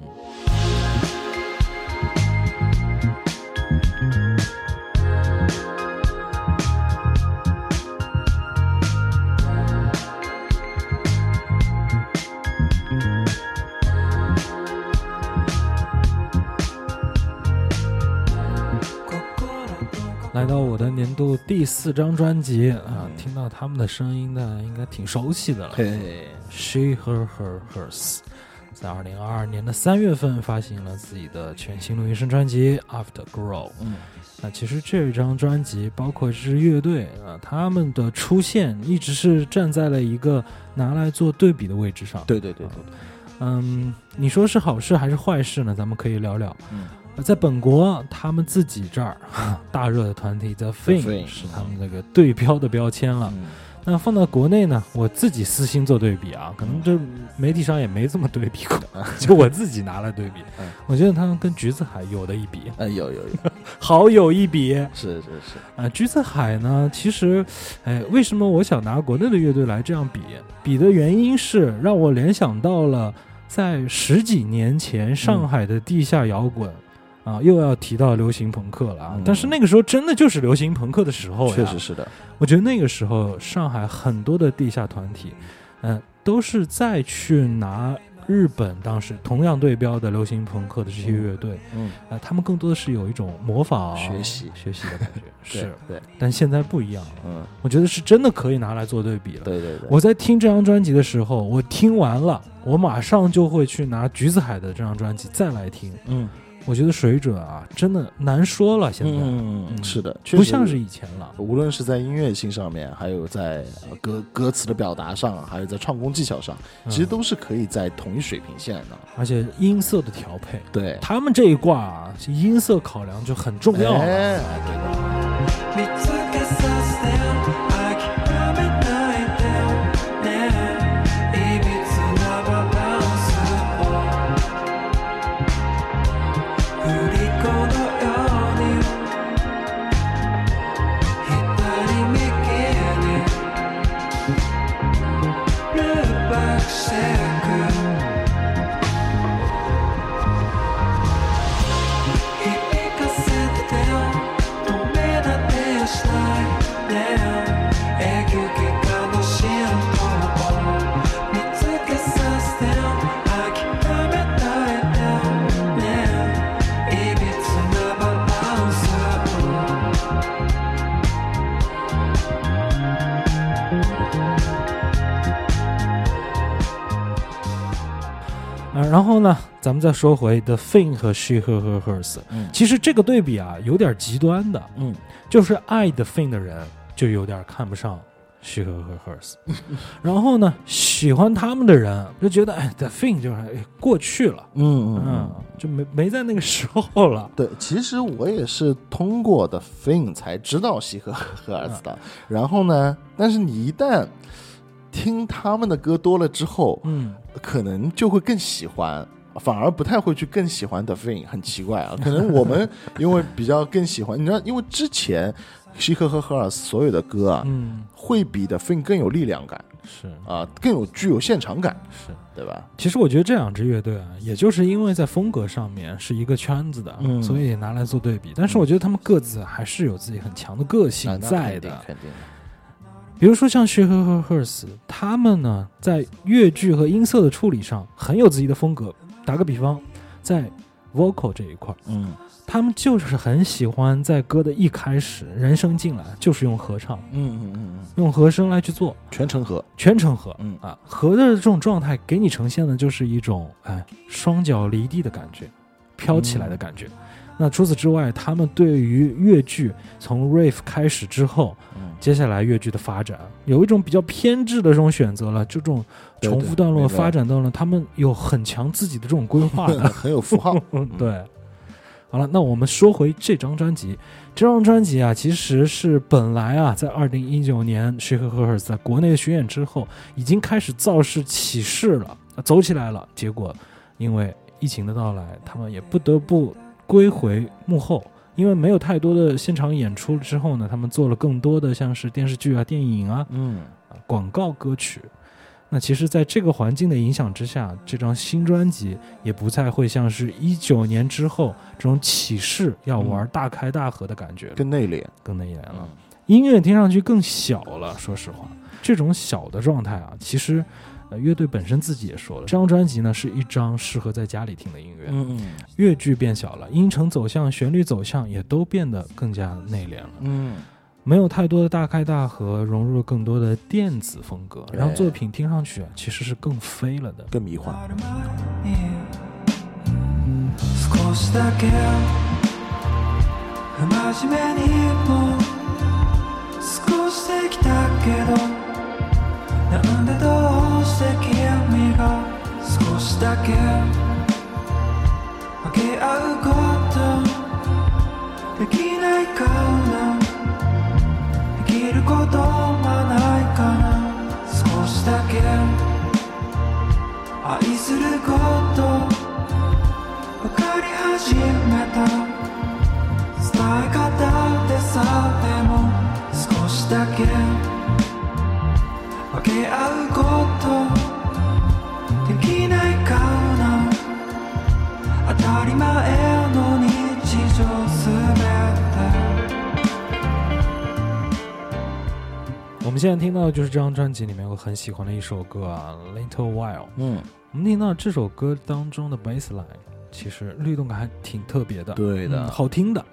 来到我的年度第四张专辑啊，听到他们的声音呢，应该挺熟悉的了。 嘿 She Her Her Hers 在二零二二年的三月份发行了自己的全新录音室专辑 Afterglow。 嗯， 那其实这张专辑包括这支乐队啊，他们的出现一直是站在了一个拿来做对比的位置上。 对对对对， 嗯，你说是好事还是坏事呢？咱们可以聊聊。 嗯。 在本国，他们自己这儿大热的团体 The Thing 是他们这个对标的标签了。 嗯、 那放到国内呢，我自己私心做对比啊，可能这媒体上也没这么对比过，就我自己拿来对比。 嗯、 我觉得他们跟橘子海有的一比， 嗯，有有有， 好有一比。 是是是。 啊，橘子海呢，其实，哎，为什么我想拿国内的乐队来这样比？比的原因是让我联想到了在十几年前上海的地下摇滚。嗯啊，又要提到流行朋克了啊！嗯、但是那个时候真的就是流行朋克的时候呀， 确实是的。 我觉得那个时候上海很多的地下团体，嗯、呃，都是再去拿日本当时同样对标的流行朋克的这些乐队， 嗯， 呃，他们更多的是有一种模仿、 学习、 学习的感觉，是对。 但现在不一样了， 嗯， 我觉得是真的可以拿来做对比了。 对对对。 我在听这张专辑的时候，我听完了，我马上就会去拿橘子海的这张专辑再来听， 嗯。 我觉得水准啊，真的难说了。现在， 嗯， 嗯是的，确实不像是以前了。 无论是在音乐性上面，还有在呃歌歌词的表达上，还有在唱功技巧上，其实都是可以在同一水平线的。 而且音色的调配， 对， 他们这一挂啊，音色考量就很重要了。 哎，对的。 見つけさせて諦めないでねいびつなバランスを振り子のように左右にループバックしてく響かせてよ止め立てしたいね永久期間の浸透を見つけさせてよ諦めないでねいびつなバランス啊，然后呢，咱们再说回 The Thing 和 She Her Her Hers， 嗯其实这个对比啊，有点极端的， 嗯， 就是爱 The Thing 的人就有点看不上 She Her Her Hers，然后呢，喜欢他们的人就觉得哎 The Thing 就是哎过去了， 嗯嗯，就没没在那个时候了。 对，其实我也是通过的 Thing 才知道西河和儿子的。然后呢，但是你一旦听他们的歌多了之后， 嗯， 可能就会更喜欢，反而不太会去更喜欢 The Thing， 很奇怪啊。可能我们因为比较更喜欢，你知道，因为之前西河和赫尔斯所有的歌啊， 嗯， 会比 The Thing 更有力量感是啊，更有具有现场感， 是。 对吧？ 其实我觉得这两支乐队啊，也就是因为在风格上面是一个圈子的， 嗯所以拿来做对比。但是我觉得他们各自还是有自己很强的个性啊那在的。 肯定肯定。 比如说像 She Her Her Hers，他们呢在乐句和音色的处理上很有自己的风格。打个比方，在 vocal 这一块， 嗯他们就是很喜欢在歌的一开始，人声进来就是用合唱， 嗯嗯嗯嗯， 用和声来去做全程和， 全程和， 嗯啊，和的这种状态给你呈现的就是一种哎双脚离地的感觉，飘起来的感觉。 嗯那除此之外，他们对于乐句从 riff 开始之后， 嗯接下来乐句的发展有一种比较偏执的这种选择了，这种重复段落对对发展段落，他们有很强自己的这种规划的。 很有符号。 嗯，对。好了，那我们说回这张专辑。这张专辑啊，其实是本来啊，在二零一九年 She Her Her Hers 在国内的巡演之后，已经开始造势起势了，走起来了。结果因为疫情的到来，他们也不得不归回幕后。因为没有太多的现场演出之后呢，他们做了更多的像是电视剧啊、电影啊、 嗯啊广告歌曲。那其实在这个环境的影响之下，这张新专辑也不再会像是一九年之后这种起势要玩大开大合的感觉了， 更内敛。 更内敛了。 嗯音乐听上去更小了，说实话，这种小的状态啊，其实呃乐队本身自己也说了，这张专辑呢是一张适合在家里听的音乐。 嗯乐句变小了，音程走向、旋律走向也都变得更加内敛了。 嗯， 没有太多的大开大合，融入了更多的电子风格， 对让作品听上去啊其实是更飞了的。 更迷幻。 少しだけ不真面目にも過ごしてきたけどなんでどうして君が少しだけ分け合うことできないかなできることはないかな少しだけ愛すること分かり始めた伝え方でさえも少しだけ分け合うことできないかな当たり前の日常すべて我们现在听到的就是这张专辑里面我很喜欢的一首歌啊 Little While。 嗯， 我们听到这首歌当中的 bassline 其实律动感还挺特别的， 对的嗯好听的。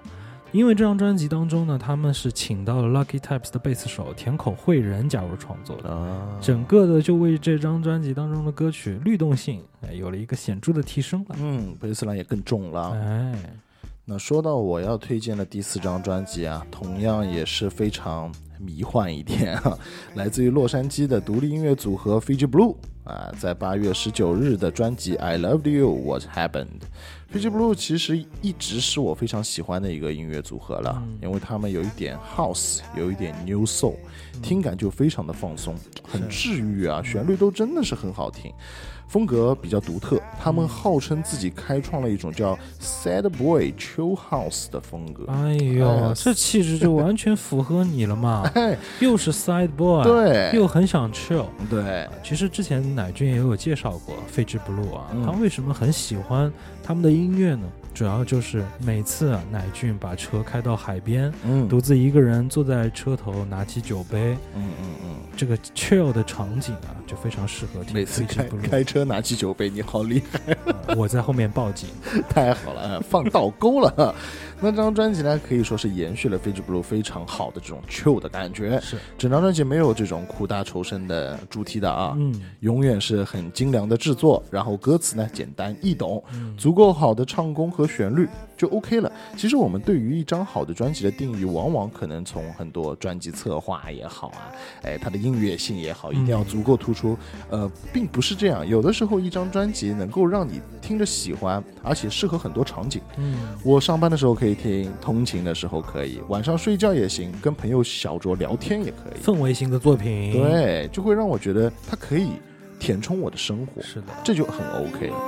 因为这张专辑当中呢，他们是请到了 Lucky Types 的贝斯手田口惠人加入创作的， 啊， 整个的就为这张专辑当中的歌曲律动性哎有了一个显著的提升了。 嗯，贝斯兰也更重了。 哎， 那说到我要推荐的第四张专辑啊，同样也是非常迷幻一点啊，来自于洛杉矶的独立音乐组合 Fiji Blue 啊，在八月十九日的专辑 I Loved You What Happened。Fiji Blue 其实一直是我非常喜欢的一个音乐组合了， 嗯、 因为他们有一点 House， 有一点 New Soul，、嗯、听感就非常的放松，很治愈啊，旋律都真的是很好听。风格比较独特，他们号称自己开创了一种叫 Sad Boy Chill House 的风格。 哎呦，哎这气质就完全符合你了嘛！ 哎、 又是 Sad Boy， 对， 又很想 chill。 对， 其实之前乃俊也有介绍过 Fiji Blue 啊， 嗯、 他为什么很喜欢他们的音乐呢？主要就是每次啊，乃俊把车开到海边， 嗯， 独自一个人坐在车头，拿起酒杯， 嗯嗯嗯， 这个 chill 的场景啊，就非常适合听。 每次开开车拿起酒杯，你好厉害、 呃！我在后面报警， 太好了，放倒钩了。那这张专辑呢，可以说是延续了 Fiji Blue 非常好的这种 chill 的感觉。 是， 整张专辑没有这种苦大仇深的主题的啊， 嗯， 永远是很精良的制作，然后歌词呢简单易懂， 嗯、 足够好的唱功和旋律就 OK 了。其实我们对于一张好的专辑的定义，往往可能从很多专辑策划也好啊，哎，它的音乐性也好，一定要足够突出。呃，并不是这样，有的时候一张专辑能够让你听着喜欢，而且适合很多场景。 嗯， 我上班的时候可以听，通勤的时候可以，晚上睡觉也行，跟朋友小酌聊天也可以。 氛围型的作品， 对，就会让我觉得它可以填充我的生活。 是的， 这就很 OK 了。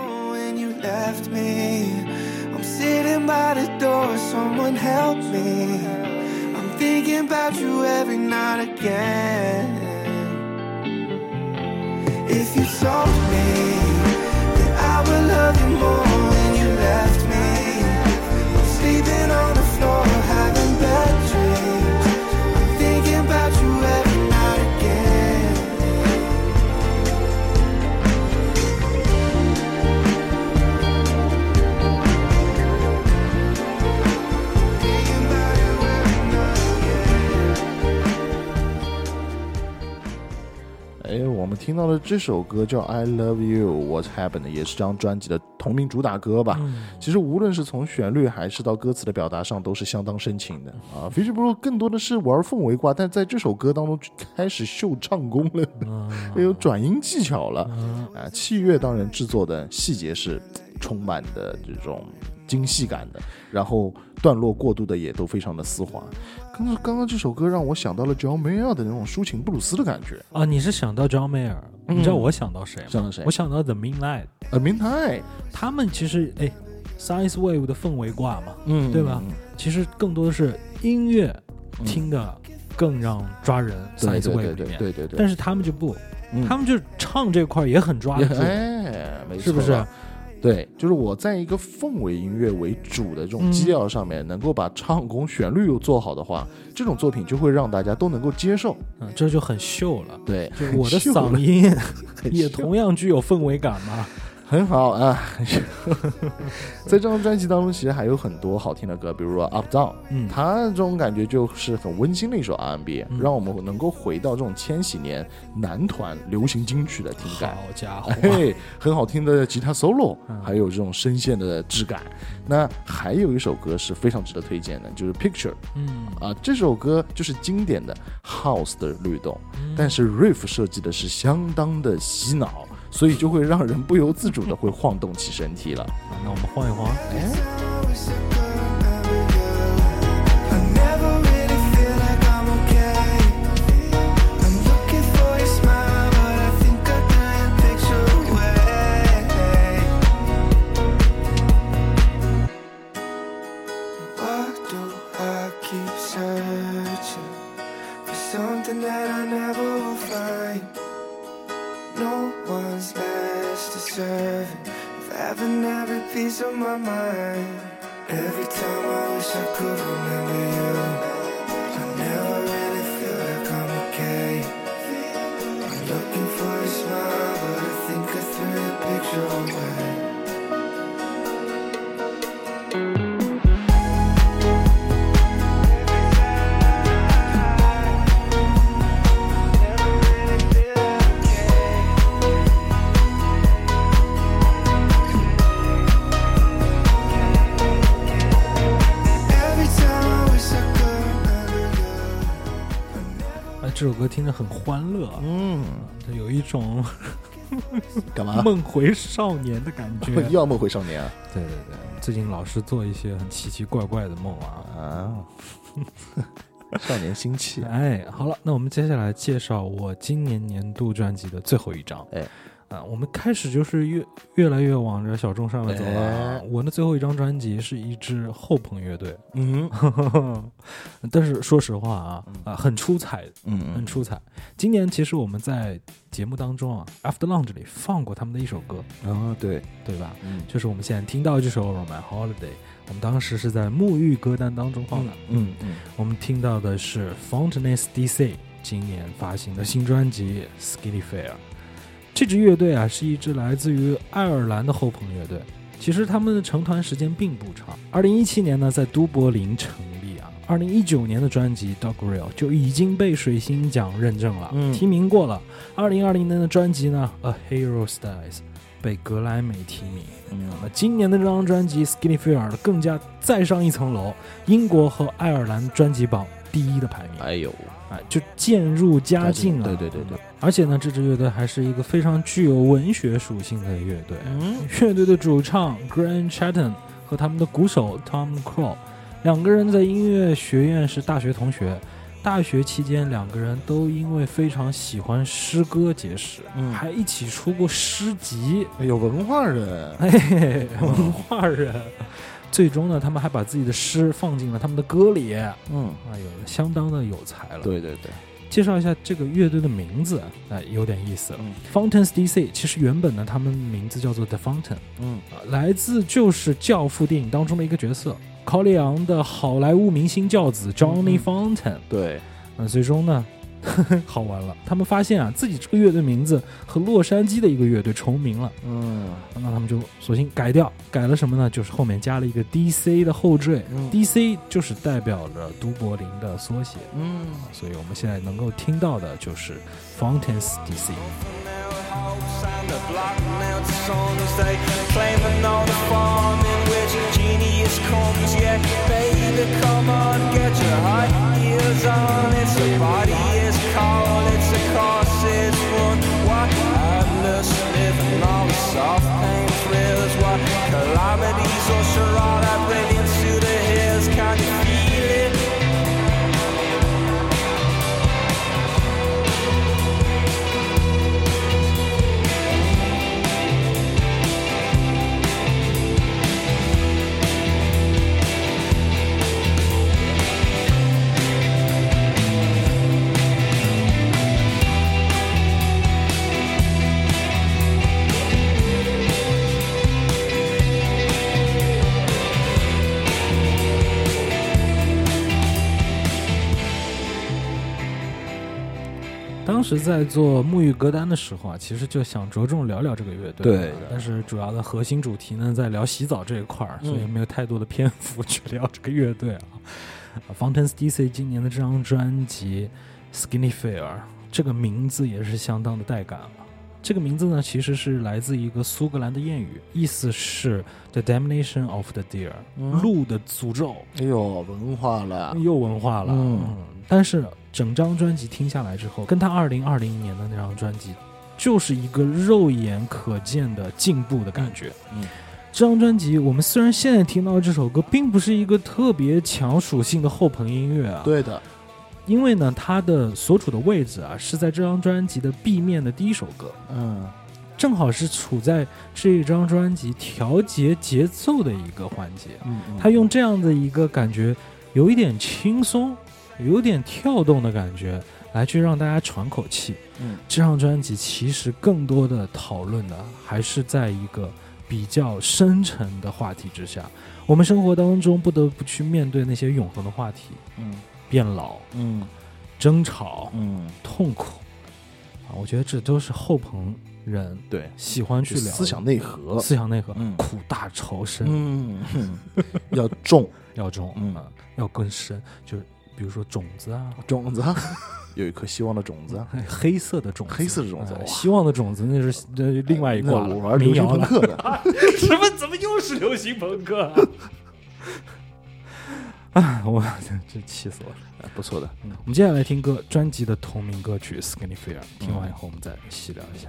Left me, I'm sitting by the door, someone help me. I'm thinking about you every night again. If you told me that I would love you more when you left me, I'm sleeping on the floor, having bad dreams. I'm thinking about you every night again. 哎，我们听到的这首歌叫 I Love You What Happened， 也是这张专辑的同名主打歌吧、 嗯、 其实无论是从旋律还是到歌词的表达上都是相当深情的啊。Fiji Blue 更多的是玩氛围挂，但在这首歌当中开始秀唱功了、嗯、有转音技巧了、嗯、啊，器乐当然制作的细节是充满的这种精细感的，然后段落过渡的也都非常的丝滑。刚刚刚刚这首歌让我想到了 John Mayer 的那种抒情布鲁斯的感觉啊！你是想到 John Mayer，、嗯、你知道我想到谁吗？ 想到谁？ 我想到 The Midnight。 呃 ，Midnight， 他们其实哎 ，Science Wave 的氛围挂嘛， 嗯， 对吧？其实更多的是音乐听的更让抓人、嗯、，Science Wave 里面， 对对对。 但是他们就不， 嗯、 他们就唱这块也很抓得住， 哎，没错， 是不是？ 对，就是我在一个氛围音乐为主的这种基调上面、嗯、能够把唱功旋律又做好的话，这种作品就会让大家都能够接受， 嗯，这就很秀了。 对， 就我的嗓音也同样具有氛围感嘛。 很好啊，在这张专辑当中，其实还有很多好听的歌，比如说 Up Down， 嗯，它这种感觉就是很温馨的一首 R and B，、嗯、让我们能够回到这种千禧年男团流行金曲的听感。 好家伙， 哎，很好听的吉他 solo，、嗯、还有这种声线的质感。那还有一首歌是非常值得推荐的，就是 Picture， 嗯啊，这首歌就是经典的 House 的律动，嗯、但是 Riff 设计的是相当的洗脑。所以就会让人不由自主的会晃动起身体了。 啊、那我们晃一晃。哎。 Piece of my mind. Every time I wish I could remember you. I never really feel like I'm okay. I'm looking for a smile, but I think I threw the picture away. 哎， 这首歌听着很欢乐， 嗯， 它有一种干嘛？ 梦回少年的感觉。 又要梦回少年啊？ 对对对，最近老是做一些很奇奇怪怪的梦啊。 啊，少年心气。 哎，好了，那我们接下来介绍我今年年度专辑的最后一张。 哎。 啊，我们开始就是越越来越往着小众上面走了、啊。 哎、 我的最后一张专辑是一支后朋乐队， 嗯， 但是说实话啊，啊，很出彩， 嗯， 很出彩。今年其实我们在节目当中啊 ，After Lounge 里放过他们的一首歌， 啊、哦，对， 对吧？ 嗯， 就是我们现在听到这首《My Holiday》，我们当时是在沐浴歌单当中放的。 嗯 嗯, 嗯， 我们听到的是 Fountaines D C 今年发行的新专辑《Skinny Fair》。这支乐队啊，是一支来自于爱尔兰的后朋乐队。其实他们的成团时间并不长。二零一七年呢，在都柏林成立啊。二零一九年的专辑《Dog Grill》就已经被水星奖认证了， 嗯、 提名过了。二零二零年的专辑呢，《A Hero Dies》被格莱美提名。 嗯， 那今年的这张专辑《Skinny Fair》更加再上一层楼，英国和爱尔兰专辑榜第一的排名。 哎呦！ 啊，就渐入佳境了。 对对对对， 而且呢，这支乐队还是一个非常具有文学属性的乐队。 嗯， 乐队的主唱 Grant Chatton 和他们的鼓手 Tom Crow 两个人在音乐学院是大学同学。大学期间，两个人都因为非常喜欢诗歌结识， 嗯， 还一起出过诗集。 有文化人， 哎，文化人。最终呢，他们还把自己的诗放进了他们的歌里。 嗯， 哎呦，相当的有才了。 对对对， 介绍一下这个乐队的名字，哎，有点意思了。 嗯、 Fountains D C 其实原本呢，他们名字叫做 The Fountain， 嗯、 啊，来自就是《教父》电影当中的一个角色，考里昂的好莱坞明星教子 Johnny Fountain。 对， 那最终呢？好玩了，他们发现啊，自己这个乐队名字和洛杉矶的一个乐队重名了， 嗯， 那他们就索性改掉，改了什么呢？就是后面加了一个 D C 的后缀、嗯、，D C 就是代表着都柏林的缩写， 嗯， 所以我们现在能够听到的就是 Fountains D C。 On. It's a body, it's cold, it's a course, it's one. Why endless living, all the soft pain thrills. Why calamities or charade, that brilliance to the hills. Can you feel it? 当时在做沐浴歌单的时候啊，其实就想着重聊聊这个乐队， 对， 但是主要的核心主题呢在聊洗澡这一块儿， 嗯、 所以没有太多的篇幅去聊这个乐队啊。Fountains D C 今年的这张专辑《Skinny Fair》这个名字也是相当的带感了。这个名字呢，其实是来自一个苏格兰的谚语，意思是 The Damnation of the Deer，、嗯、鹿的诅咒。 哎呦，文化了， 又文化了。 嗯， 嗯但是整张专辑听下来之后，跟他二零二零年的那张专辑，就是一个肉眼可见的进步的感觉。 嗯， 这张专辑我们虽然现在听到这首歌，并不是一个特别强属性的后朋音乐啊。 对的。 因为呢，它的所处的位置啊，是在这张专辑的 B 面的第一首歌， 嗯， 正好是处在这张专辑调节节奏的一个环节。 嗯，嗯他用这样的一个感觉，有一点轻松，有点跳动的感觉，来去让大家喘口气。 嗯， 这张专辑其实更多的讨论的还是在一个比较深沉的话题之下，我们生活当中不得不去面对那些永恒的话题。 嗯。 变老， 嗯， 争吵， 嗯， 痛苦，啊，我觉得这都是后朋人对喜欢去聊思想内核， 思想内核， 嗯、 苦大仇深， 嗯，要重， 要重， 嗯、 啊，要更深，就是比如说种子啊， 种子啊，有一颗希望的种子， 黑色的种子， 黑色的种子， 哎、希望的种子那是呃另外一挂了， 我玩流行朋克的， 什么？怎么又是流行朋克、啊？ 啊，我这气死我了。 哎不错的。 嗯，我们接下来听歌，专辑的同名歌曲《Skinny Fear》，听完以后我们再细聊一下。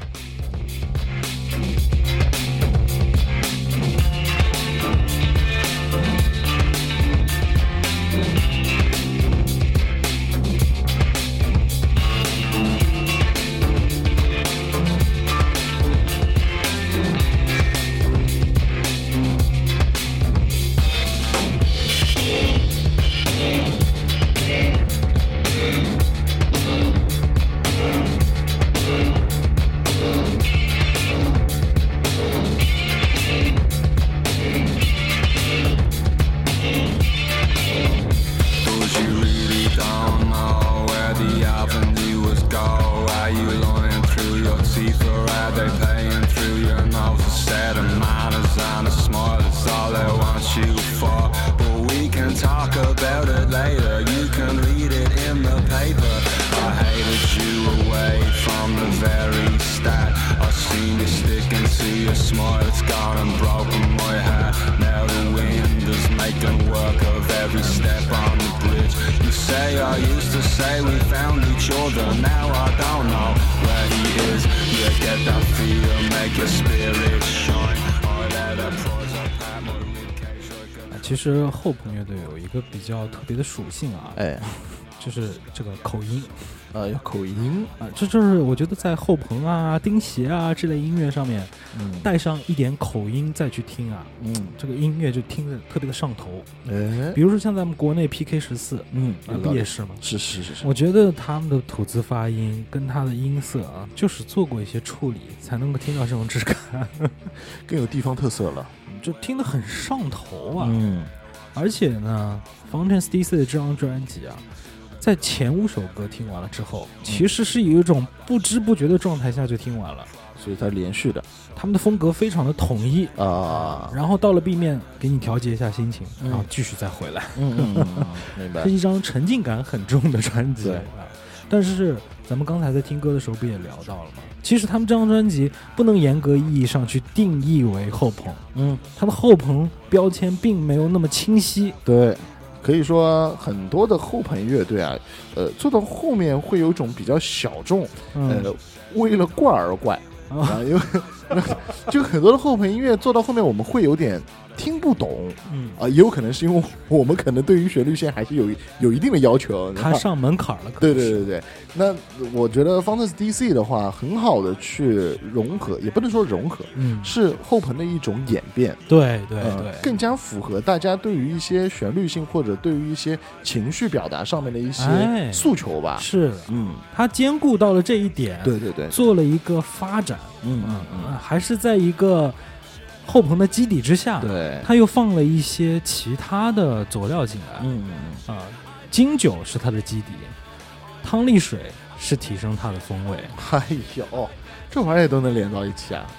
其实后朋乐队有一个比较特别的属性啊， 哎， 就是这个口音， 啊，有口音啊，这就是我觉得在后朋啊、钉鞋啊这类音乐上面， 嗯， 带上一点口音再去听啊， 嗯， 这个音乐就听着特别的上头。 哎， 比如说像咱们国内 P K 十四， 嗯， 啊，不也是吗？ 是是是是， 我觉得他们的吐字发音跟他的音色啊，就是做过一些处理，才能够听到这种质感， 更有地方特色了， 就听得很上头啊。 嗯， 而且呢 Fountains D C 的这张专辑啊，在前五首歌听完了之后，其实是有一种不知不觉的状态下就听完了， 所以它连续的， 他们的风格非常的统一啊， 然后到了 B 面给你调节一下心情， 嗯然后继续再回来， 嗯嗯嗯嗯，明白是，一张沉浸感很重的专辑对啊。但是咱们刚才在听歌的时候不也聊到了吗？其实他们这张专辑不能严格意义上去定义为后朋， 嗯， 它的后朋标签并没有那么清晰。 对。可以说很多的后朋乐队啊，呃，做到后面会有一种比较小众， 嗯、 呃，为了怪而怪啊，因为就很多的后朋音乐做到后面，我们会有点听不懂， 嗯啊，也有可能是因为我们可能对于旋律线还是有有一定的要求， 它上门槛了。 对对对对，那我觉得 Fountains D C 的话，很好的去融合，也不能说融合， 嗯， 是后朋的一种演变。 对对呃对， 更加符合大家对于一些旋律性或者对于一些情绪表达上面的一些哎诉求吧。 是的， 嗯， 它兼顾到了这一点， 对对对， 做了一个发展， 嗯嗯嗯嗯，还是在一个后朋的基底之下， 对， 他又放了一些其他的佐料进来， 嗯嗯啊，金酒是它的基底，汤力水是提升它的风味。 哎呦，这玩意儿都能连到一起啊！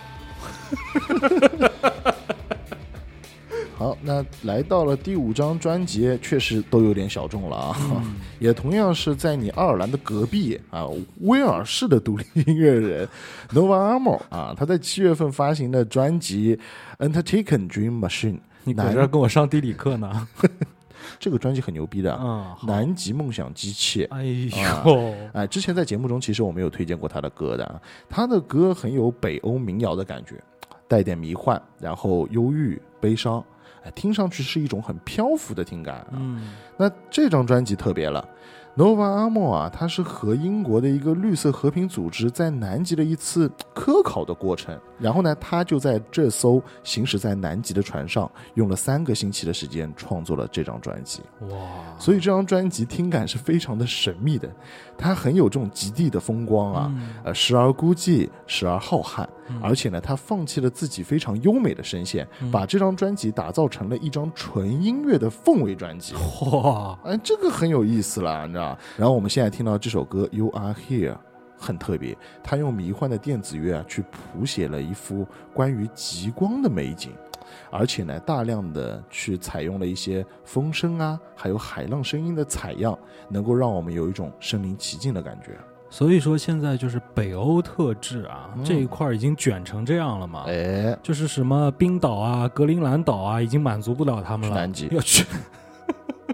好，那来到了第五张专辑，确实都有点小众了啊， 嗯、 也同样是在你爱尔兰的隔壁啊，威尔士的独立音乐人 Nova Armour 啊，他在七月份发行的专辑 Undertaken Dream Machine， 你搁这儿跟我上地理课呢？ 这个专辑很牛逼的， 嗯， 南极梦想机器。 哎呦， 啊、哎，之前在节目中其实我们有推荐过他的歌的，他的歌很有北欧民谣的感觉，带点迷幻，然后忧郁、悲伤。听上去是一种很漂浮的听感、啊、 嗯， 那这张专辑特别了 Nova Armour 啊，它是和英国的一个绿色和平组织在南极的一次科考的过程，然后呢他就在这艘行驶在南极的船上用了三个星期的时间创作了这张专辑。 哇， 所以这张专辑听感是非常的神秘的，它很有这种极地的风光啊、嗯、呃，时而孤寂，时而浩瀚、嗯、而且呢他放弃了自己非常优美的声线、嗯、把这张专辑打造成了一张纯音乐的氛围专辑。 哇， 哎，这个很有意思了，你知道。然后我们现在听到这首歌 You Are Here 很特别，他用迷幻的电子乐啊去谱写了一幅关于极光的美景，而且呢大量的去采用了一些风声啊还有海浪声音的采样，能够让我们有一种身临其境的感觉。 所以说现在就是北欧特质啊、嗯、这一块已经卷成这样了嘛， 哎， 就是什么冰岛啊格陵兰岛啊已经满足不了他们了， 去南极要去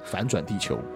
反转地球。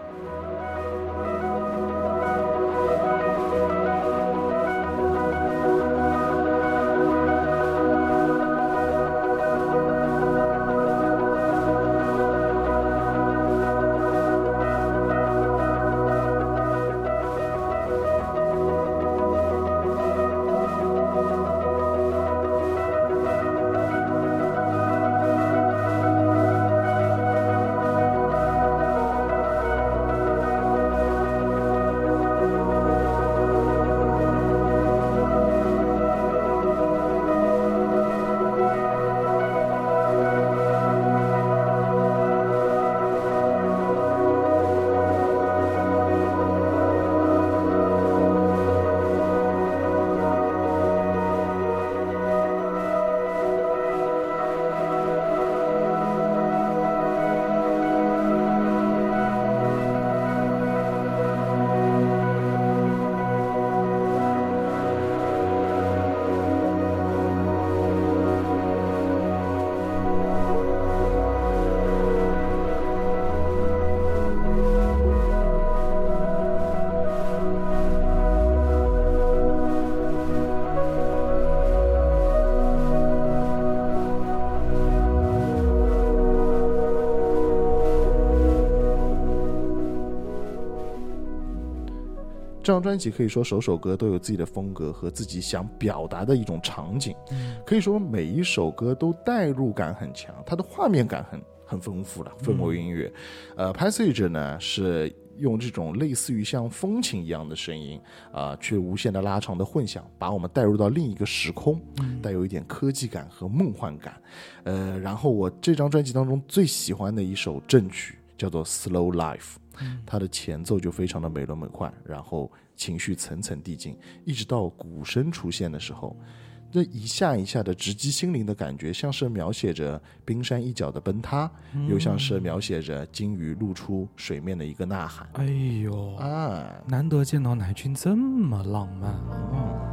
这张专辑可以说首首歌都有自己的风格和自己想表达的一种场景，可以说每一首歌都代入感很强，它的画面感很很丰富了，氛围音乐。嗯、呃 Passage 呢是用这种类似于像风琴一样的声音啊、呃，却无限的拉长的混响，把我们带入到另一个时空，带有一点科技感和梦幻感。呃，然后我这张专辑当中最喜欢的一首正曲叫做 Slow Life。它的前奏就非常的美轮美奂，然后情绪层层递进，一直到鼓声出现的时候，这一下一下的直击心灵的感觉，像是描写着冰山一角的崩塌，嗯、又像是描写着鲸鱼露出水面的一个呐喊。 哎呦啊， 难得见到乃君这么浪漫啊！嗯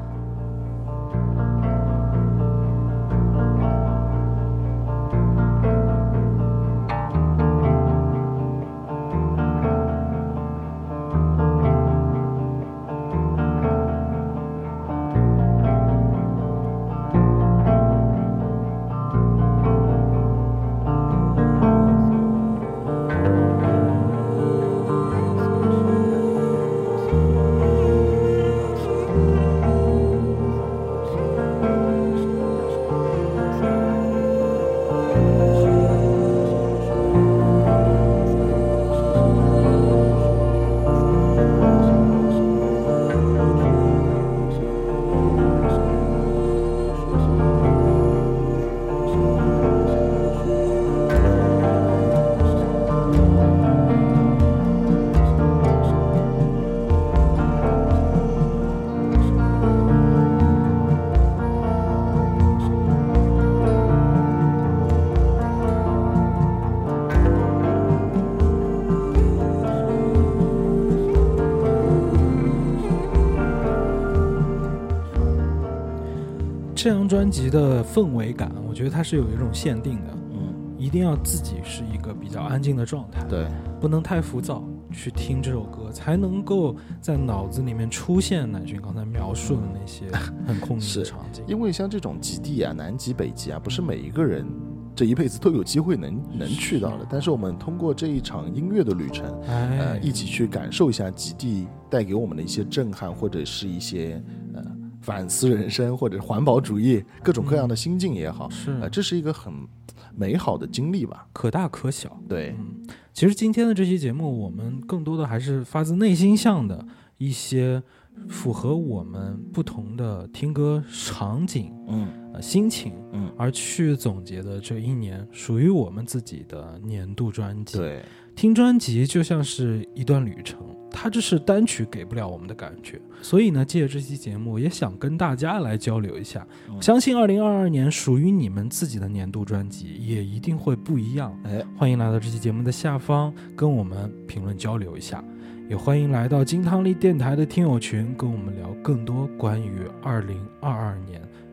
这张专辑的氛围感，我觉得它是有一种限定的，嗯，一定要自己是一个比较安静的状态， 对， 不能太浮躁，去听这首歌，才能够在脑子里面出现乃君刚才描述的那些很空灵的场景。 因为像这种极地啊，南极、北极啊，不是每一个人这一辈子都有机会能能去到的，但是我们通过这一场音乐的旅程，哎、呃，一起去感受一下极地带给我们的一些震撼，或者是一些呃。反思人生或者环保主义各种各样的心境也好，嗯、是、呃，这是一个很美好的经历吧， 可大可小。 对， 嗯，其实今天的这期节目，我们更多的还是发自内心向的一些符合我们不同的听歌场景，嗯，呃，心情，嗯，而去总结的这一年属于我们自己的年度专辑。 对， 听专辑就像是一段旅程。它这是单曲给不了我们的感觉，所以呢，借着这期节目也想跟大家来交流一下。嗯、相信二零二二年属于你们自己的年度专辑也一定会不一样。哎，欢迎来到这期节目的下方跟我们评论交流一下，也欢迎来到金汤力电台的听友群，跟我们聊更多关于二零二二年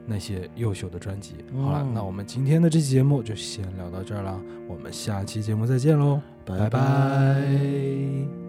那些优秀的专辑。 嗯好了，那我们今天的这期节目就先聊到这儿了，我们下期节目再见喽，拜拜拜